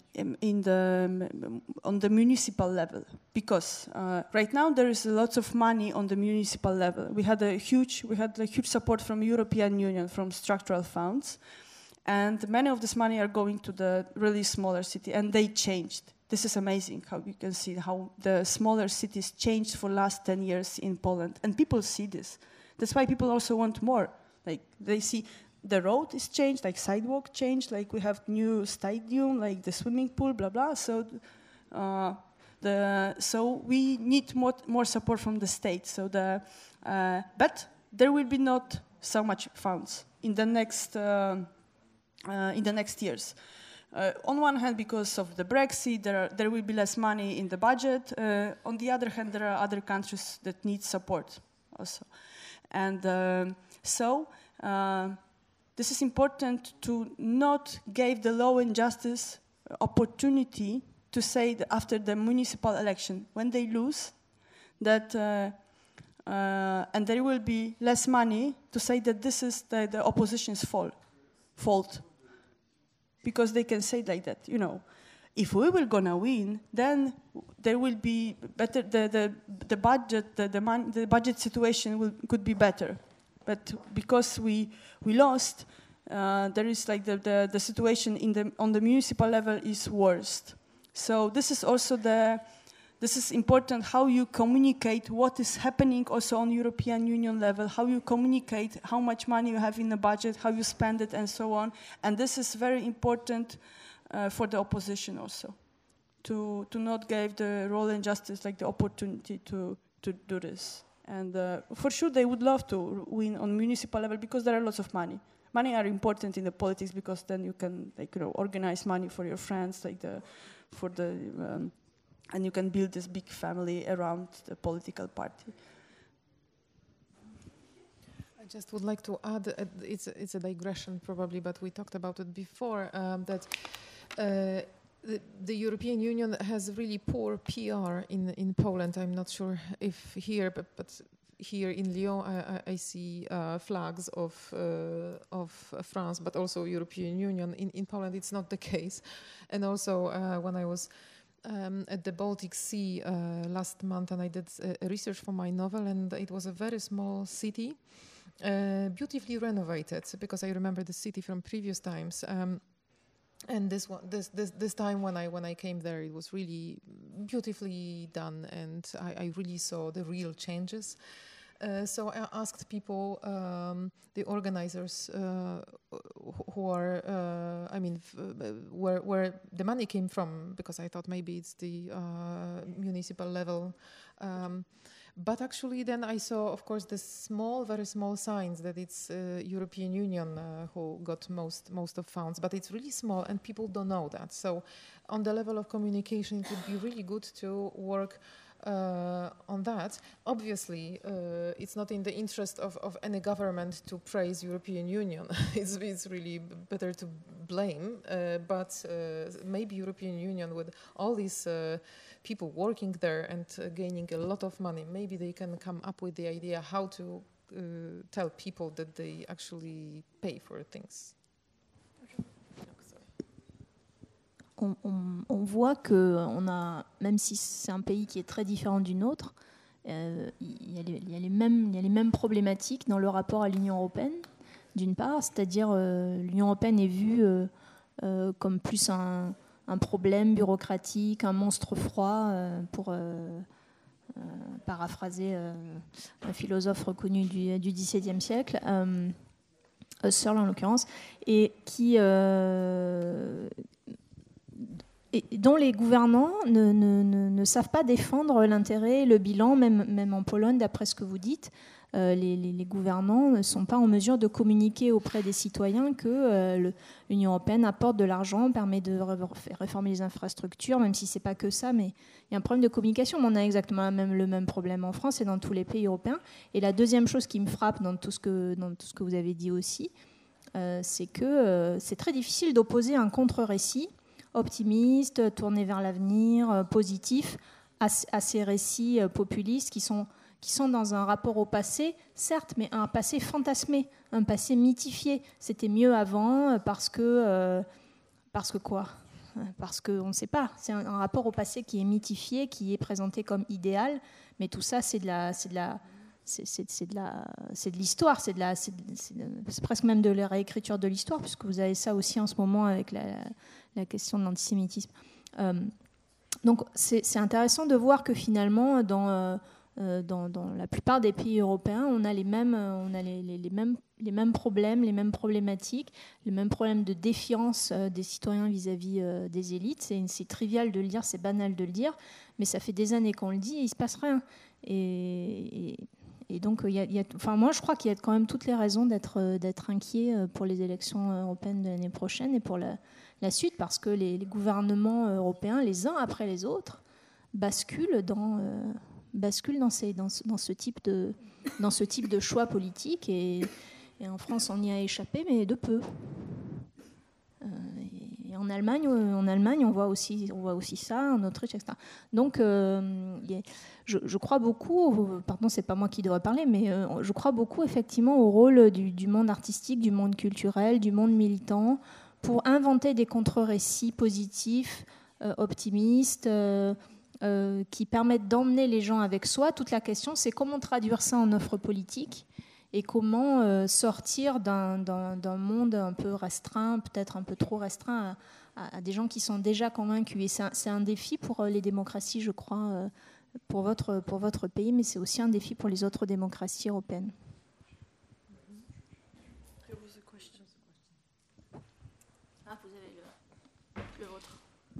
the municipal level, because right now there is lots of money on the municipal level. We had a huge support from European Union, from structural funds, and many of this money are going to the really smaller city, and they changed. This is amazing how you can see how the smaller cities changed for last 10 years in Poland, and people see this. That's why people also want more. Like, they see the road is changed, like sidewalk changed, like we have new stadium, like the swimming pool, blah blah. So, so we need more support from the state. So but there will be not so much funds in the next years. On one hand, because of the Brexit, there will be less money in the budget. On the other hand, there are other countries that need support also, and this is important to not give the law and justice opportunity to say that after the municipal election, when they lose, that and there will be less money, to say that this is the opposition's fault, because they can say like that, you know, if we were gonna win, then there will be better. The budget, the budget situation could be better. But because we lost, there is like the situation on the municipal level is worst. So this is also this is important, how you communicate what is happening also on European Union level, how you communicate how much money you have in the budget, how you spend it, and so on. And this is very important for the opposition also, to not give the law and justice like the opportunity to do this. And for sure, they would love to win on municipal level because there are lots of money. Money are important in the politics because then you can, like, you know, organize money for your friends, like and you can build this big family around the political party. I just would like to add, it's a digression probably, but we talked about it before, that the European Union has really poor PR in Poland. I'm not sure if here, but here in Lyon, I see flags of France, but also European Union. In Poland, it's not the case. And also, when I was at the Baltic Sea last month, and I did research for my novel, and it was a very small city, beautifully renovated, because I remember the city from previous times. And this time when I came there, it was really beautifully done, and I really saw the real changes. So I asked people, the organizers, who are, where the money came from, because I thought maybe it's the municipal level. But actually then I saw, of course, the very small signs that it's European Union who got most of funds, but it's really small and people don't know that. So on the level of communication, it would be really good to work on that. Obviously, it's not in the interest of any government to praise European Union. It's really better to blame, but maybe European Union, with all these people working there and gaining a lot of money, maybe they can come up with the idea how to tell people that they actually pay for things. on voit que même si c'est un pays qui est très différent du nôtre, il y a les mêmes problématiques dans le rapport à l'Union européenne, d'une part, c'est-à-dire l'Union européenne est vue comme plus un problème bureaucratique, un monstre froid, pour paraphraser un philosophe reconnu du XVIIe siècle, Husserl en l'occurrence, et dont les gouvernants ne savent pas défendre l'intérêt, le bilan, même en Pologne, d'après ce que vous dites. Les gouvernants ne sont pas en mesure de communiquer auprès des citoyens que l'Union européenne apporte de l'argent, permet de réformer les infrastructures, même si ce n'est pas que ça, mais il y a un problème de communication. On a exactement le même problème en France et dans tous les pays européens. Et la deuxième chose qui me frappe dans tout ce que vous avez dit aussi, c'est que c'est très difficile d'opposer un contre-récit optimiste, tourné vers l'avenir, positif, à ces récits populistes qui sont dans un rapport au passé, certes, mais un passé fantasmé, un passé mythifié. C'était mieux avant parce que quoi ? Parce qu'on ne sait pas. C'est un rapport au passé qui est mythifié, qui est présenté comme idéal, mais tout ça, c'est de l'histoire, c'est presque même de la réécriture de l'histoire, puisque vous avez ça aussi en ce moment avec la question de l'antisémitisme. Donc c'est intéressant de voir que finalement, dans la plupart des pays européens, on a les mêmes problèmes, les mêmes problématiques, les mêmes problèmes de défiance des citoyens vis-à-vis des élites. C'est trivial de le dire, c'est banal de le dire, mais ça fait des années qu'on le dit et il ne se passe rien. Et donc, moi, je crois qu'il y a quand même toutes les raisons d'être inquiet pour les élections européennes de l'année prochaine et pour la suite, parce que les gouvernements européens, les uns après les autres, basculent dans ce type de choix politique. Et en France, on y a échappé, mais de peu. Et en Allemagne, on voit aussi ça, en Autriche, etc. Donc, je crois beaucoup, pardon, c'est pas moi qui devrais parler, mais je crois beaucoup effectivement au rôle du monde artistique, du monde culturel, du monde militant, pour inventer des contre-récits positifs, optimistes, qui permettent d'emmener les gens avec soi. Toute la question, c'est comment traduire ça en offre politique et comment sortir d'un monde un peu restreint, peut-être un peu trop restreint, à des gens qui sont déjà convaincus. Et c'est un défi pour les démocraties, je crois, pour votre pays, mais c'est aussi un défi pour les autres démocraties européennes. Ah, vous avez le vôtre.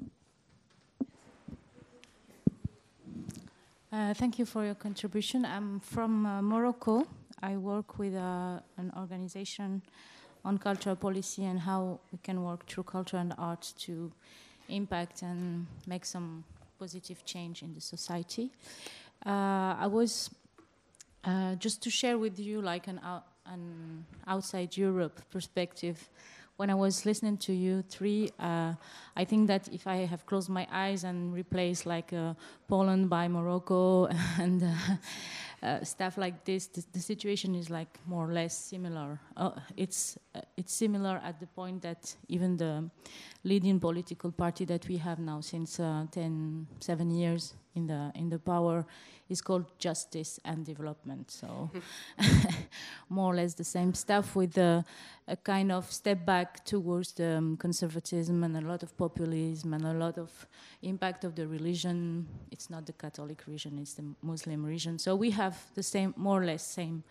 Thank you for your contribution. I'm from Morocco. I work with an organization on cultural policy and how we can work through culture and art to impact and make some positive change in the society. I was just to share with you like an outside Europe perspective. When I was listening to you three, I think that if I have closed my eyes and replaced like Poland by Morocco and stuff like this, the situation is like more or less similar. It's similar at the point that even the leading political party that we have now since 7 years in the power is called Justice and Development. So more or less the same stuff with a kind of step back towards the conservatism and a lot of populism and a lot of impact of the religion. It's not the Catholic religion, it's the Muslim religion. So we have the same, more or less same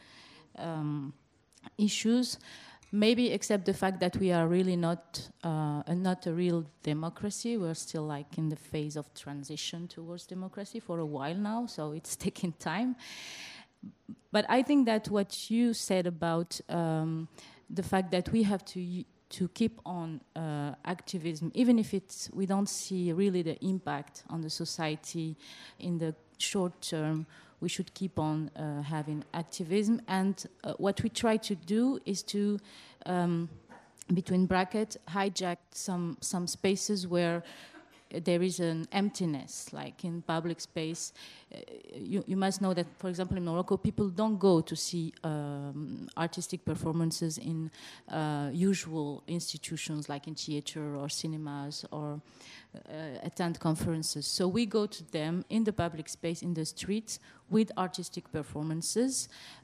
issues. Maybe except the fact that we are really not a real democracy. We're still like in the phase of transition towards democracy for a while now, so it's taking time. But I think that what you said about the fact that we have to keep on activism, even if we don't see really the impact on the society in the short term, we should keep on having activism. And what we try to do is to, between brackets, hijack some spaces where there is an emptiness, like in public space. You must know that, for example, in Morocco, people don't go to see artistic performances in usual institutions like in theater or cinemas or attend conferences. So we go to them in the public space, in the streets, with artistic performances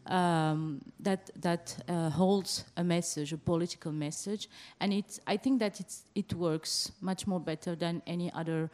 that holds a message, a political message, and I think that it works much more better than any other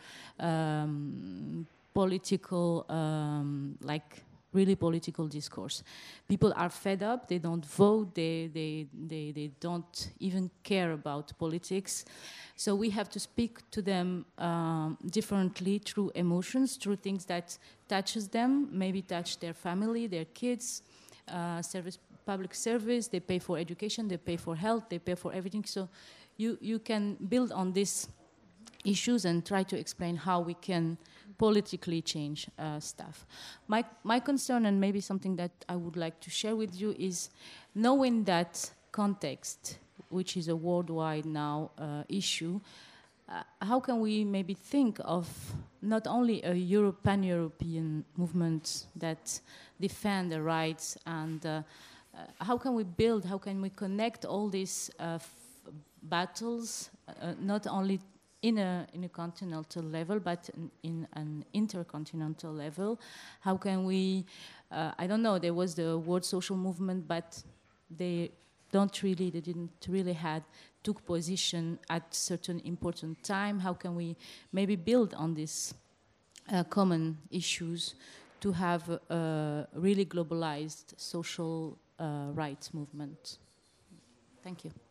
political, really political discourse. People are fed up. They don't vote. They don't even care about politics. So we have to speak to them differently through emotions, through things that touches them, maybe touch their family, their kids, public service. They pay for education. They pay for health. They pay for everything. So you can build on these issues and try to explain how we can politically change stuff. My concern, and maybe something that I would like to share with you, is knowing that context, which is a worldwide now issue, how can we maybe think of not only a pan-European movement that defend the rights, and how can we connect all these battles, not only in a continental level, but in an intercontinental level? How can we, I don't know, there was the World Social Movement, but they didn't really took position at certain important time. How can we maybe build on these common issues to have a really globalized social rights movement? Thank you.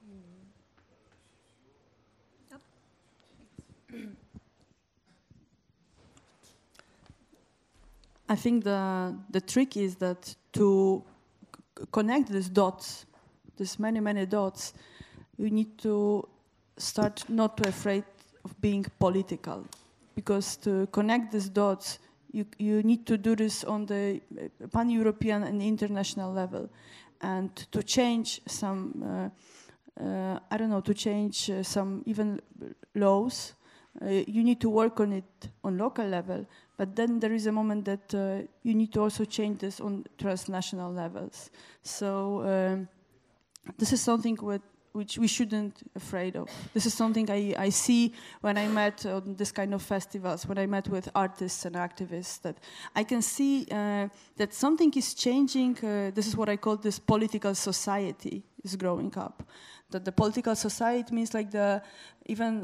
I think the trick is that to connect these dots, these many dots, you need to start not to afraid of being political, because to connect these dots, you need to do this on the pan-European and international level, and to change some, to change some even laws. You need to work on it on local level, but then there is a moment that you need to also change this on transnational levels. So this is something which we shouldn't afraid of. This is something I see when I met on this kind of festivals, when I met with artists and activists, that I can see that something is changing. This is what I call this political society is growing up. That the political society means like even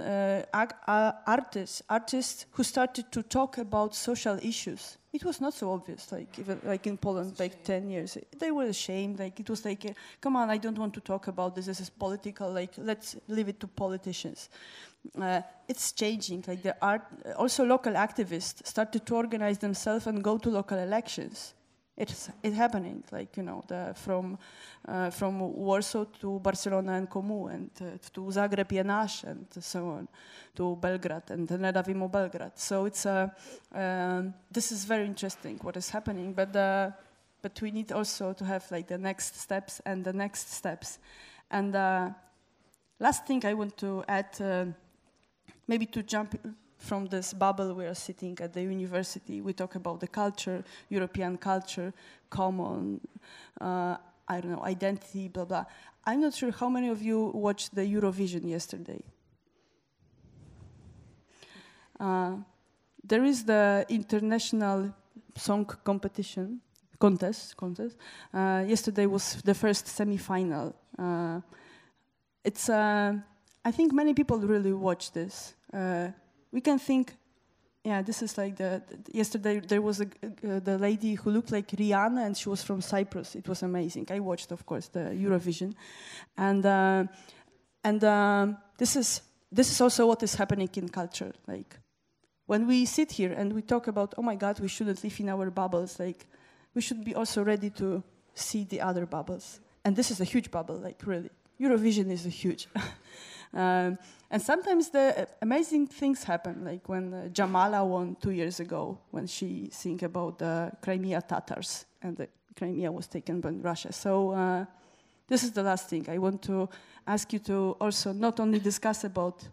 artists who started to talk about social issues. It was not so obvious, even in Poland, 10 years. They were ashamed. It was come on, I don't want to talk about this. This is political. Let's leave it to politicians. It's changing. Also local activists started to organize themselves and go to local elections. It's happening, from Warsaw to Barcelona and Comu, and to Zagreb Jenash, and so on, to Belgrade and Nedavimo Belgrade. So it's this is very interesting what is happening, but we need also to have the next steps and the next steps. And last thing I want to add, maybe to jump from this bubble we are sitting at the university. We talk about the culture, European culture, common, identity, blah, blah. I'm not sure how many of you watched the Eurovision yesterday. There is the international song contest. Yesterday was the first semi-final. I think many people really watch this. We can think, this is yesterday there was the lady who looked like Rihanna, and she was from Cyprus. It was amazing. I watched, of course, the Eurovision, and this is also what is happening in culture. When we sit here and we talk about, oh my God, we shouldn't live in our bubbles. We should be also ready to see the other bubbles. And this is a huge bubble. Really, Eurovision is a huge. And sometimes the amazing things happen, when Jamala won 2 years ago, when she sang about the Crimea Tatars, and the Crimea was taken by Russia. So this is the last thing. I want to ask you to also not only discuss about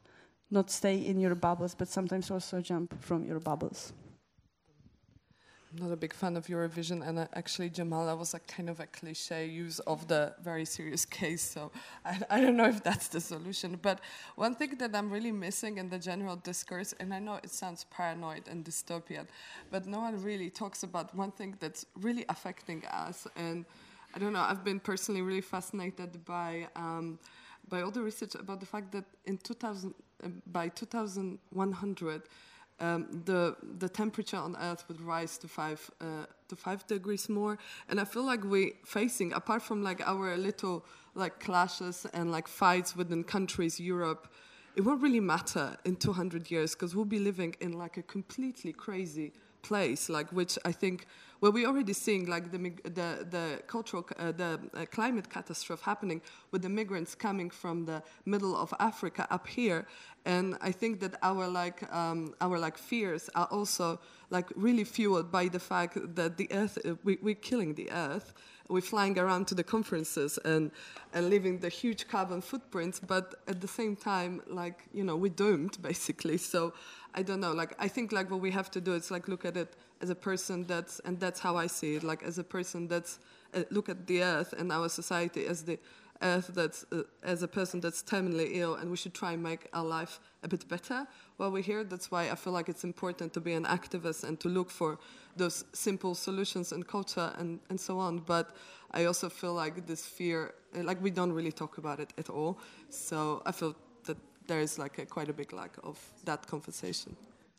not stay in your bubbles, but sometimes also jump from your bubbles. I'm not a big fan of Eurovision, and actually Jamala was a kind of a cliche use of the very serious case, so I don't know if that's the solution. But one thing that I'm really missing in the general discourse, and I know it sounds paranoid and dystopian, but no one really talks about one thing that's really affecting us. And I don't know, I've been personally really fascinated by all the research about the fact that in by 2100, the temperature on Earth would rise to 5 degrees more, and I feel like we're facing, apart from like our little like clashes and like fights within countries, Europe, it won't really matter in 200 years because we'll be living in like a completely crazy place, like which I think where we're already seeing like the cultural climate catastrophe happening with the migrants coming from the middle of Africa up here, and I think that our fears are also like really fueled by the fact that the Earth we're killing the Earth. We're flying around to the conferences and leaving the huge carbon footprints, but at the same time, like, you know, we're doomed, basically. So I don't know, like, I think, like, what we have to do is, like, look at it as a person and that's how I see it, like, as a person look at the Earth and our society as the Earth as a person that's terminally ill, and we should try and make our life a bit better while we're here. That's why I feel like it's important to be an activist and to look for those simple solutions in culture and so on. But I also feel like this fear, like we don't really talk about it at all. So I feel that there is like quite a big lack of that conversation.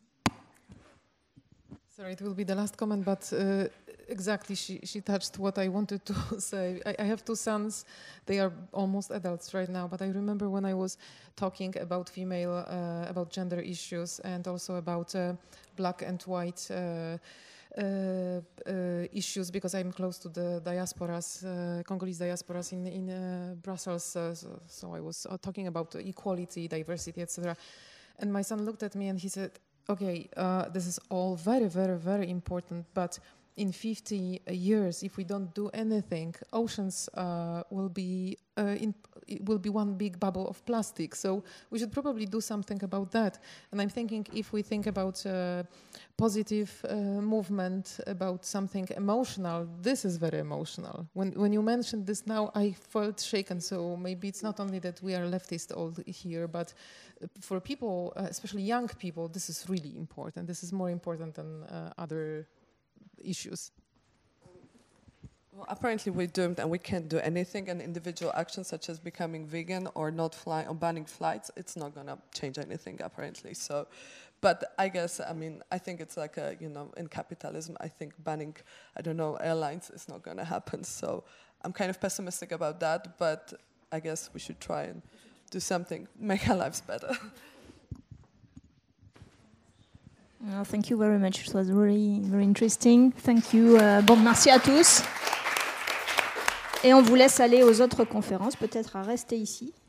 Sorry, it will be the last comment, but exactly, she touched what I wanted to say. I have two sons. They are almost adults right now, but I remember when I was talking about about gender issues and also about black and white issues, because I'm close to the diasporas, Congolese diasporas in Brussels. So I was talking about equality, diversity, etc. And my son looked at me and he said, okay, this is all very, very, very important, but in 50 years, if we don't do anything, oceans will be one big bubble of plastic. So we should probably do something about that. And I'm thinking, if we think about positive movement, about something emotional, this is very emotional. When you mentioned this now, I felt shaken. So maybe it's not only that we are leftist all here, but for people, especially young people, this is really important. This is more important than other issues. Well, apparently we're doomed and we can't do anything, and individual actions such as becoming vegan or not flying or banning flights, it's not going to change anything apparently. So, but I guess, I mean, I think it's like in capitalism, I think banning, airlines is not going to happen. So I'm kind of pessimistic about that, but I guess we should try and do something, make our lives better. Thank you very much. It was really very interesting. Thank you. Bon, merci à tous. Et on vous laisse aller aux autres conférences, peut-être à rester ici.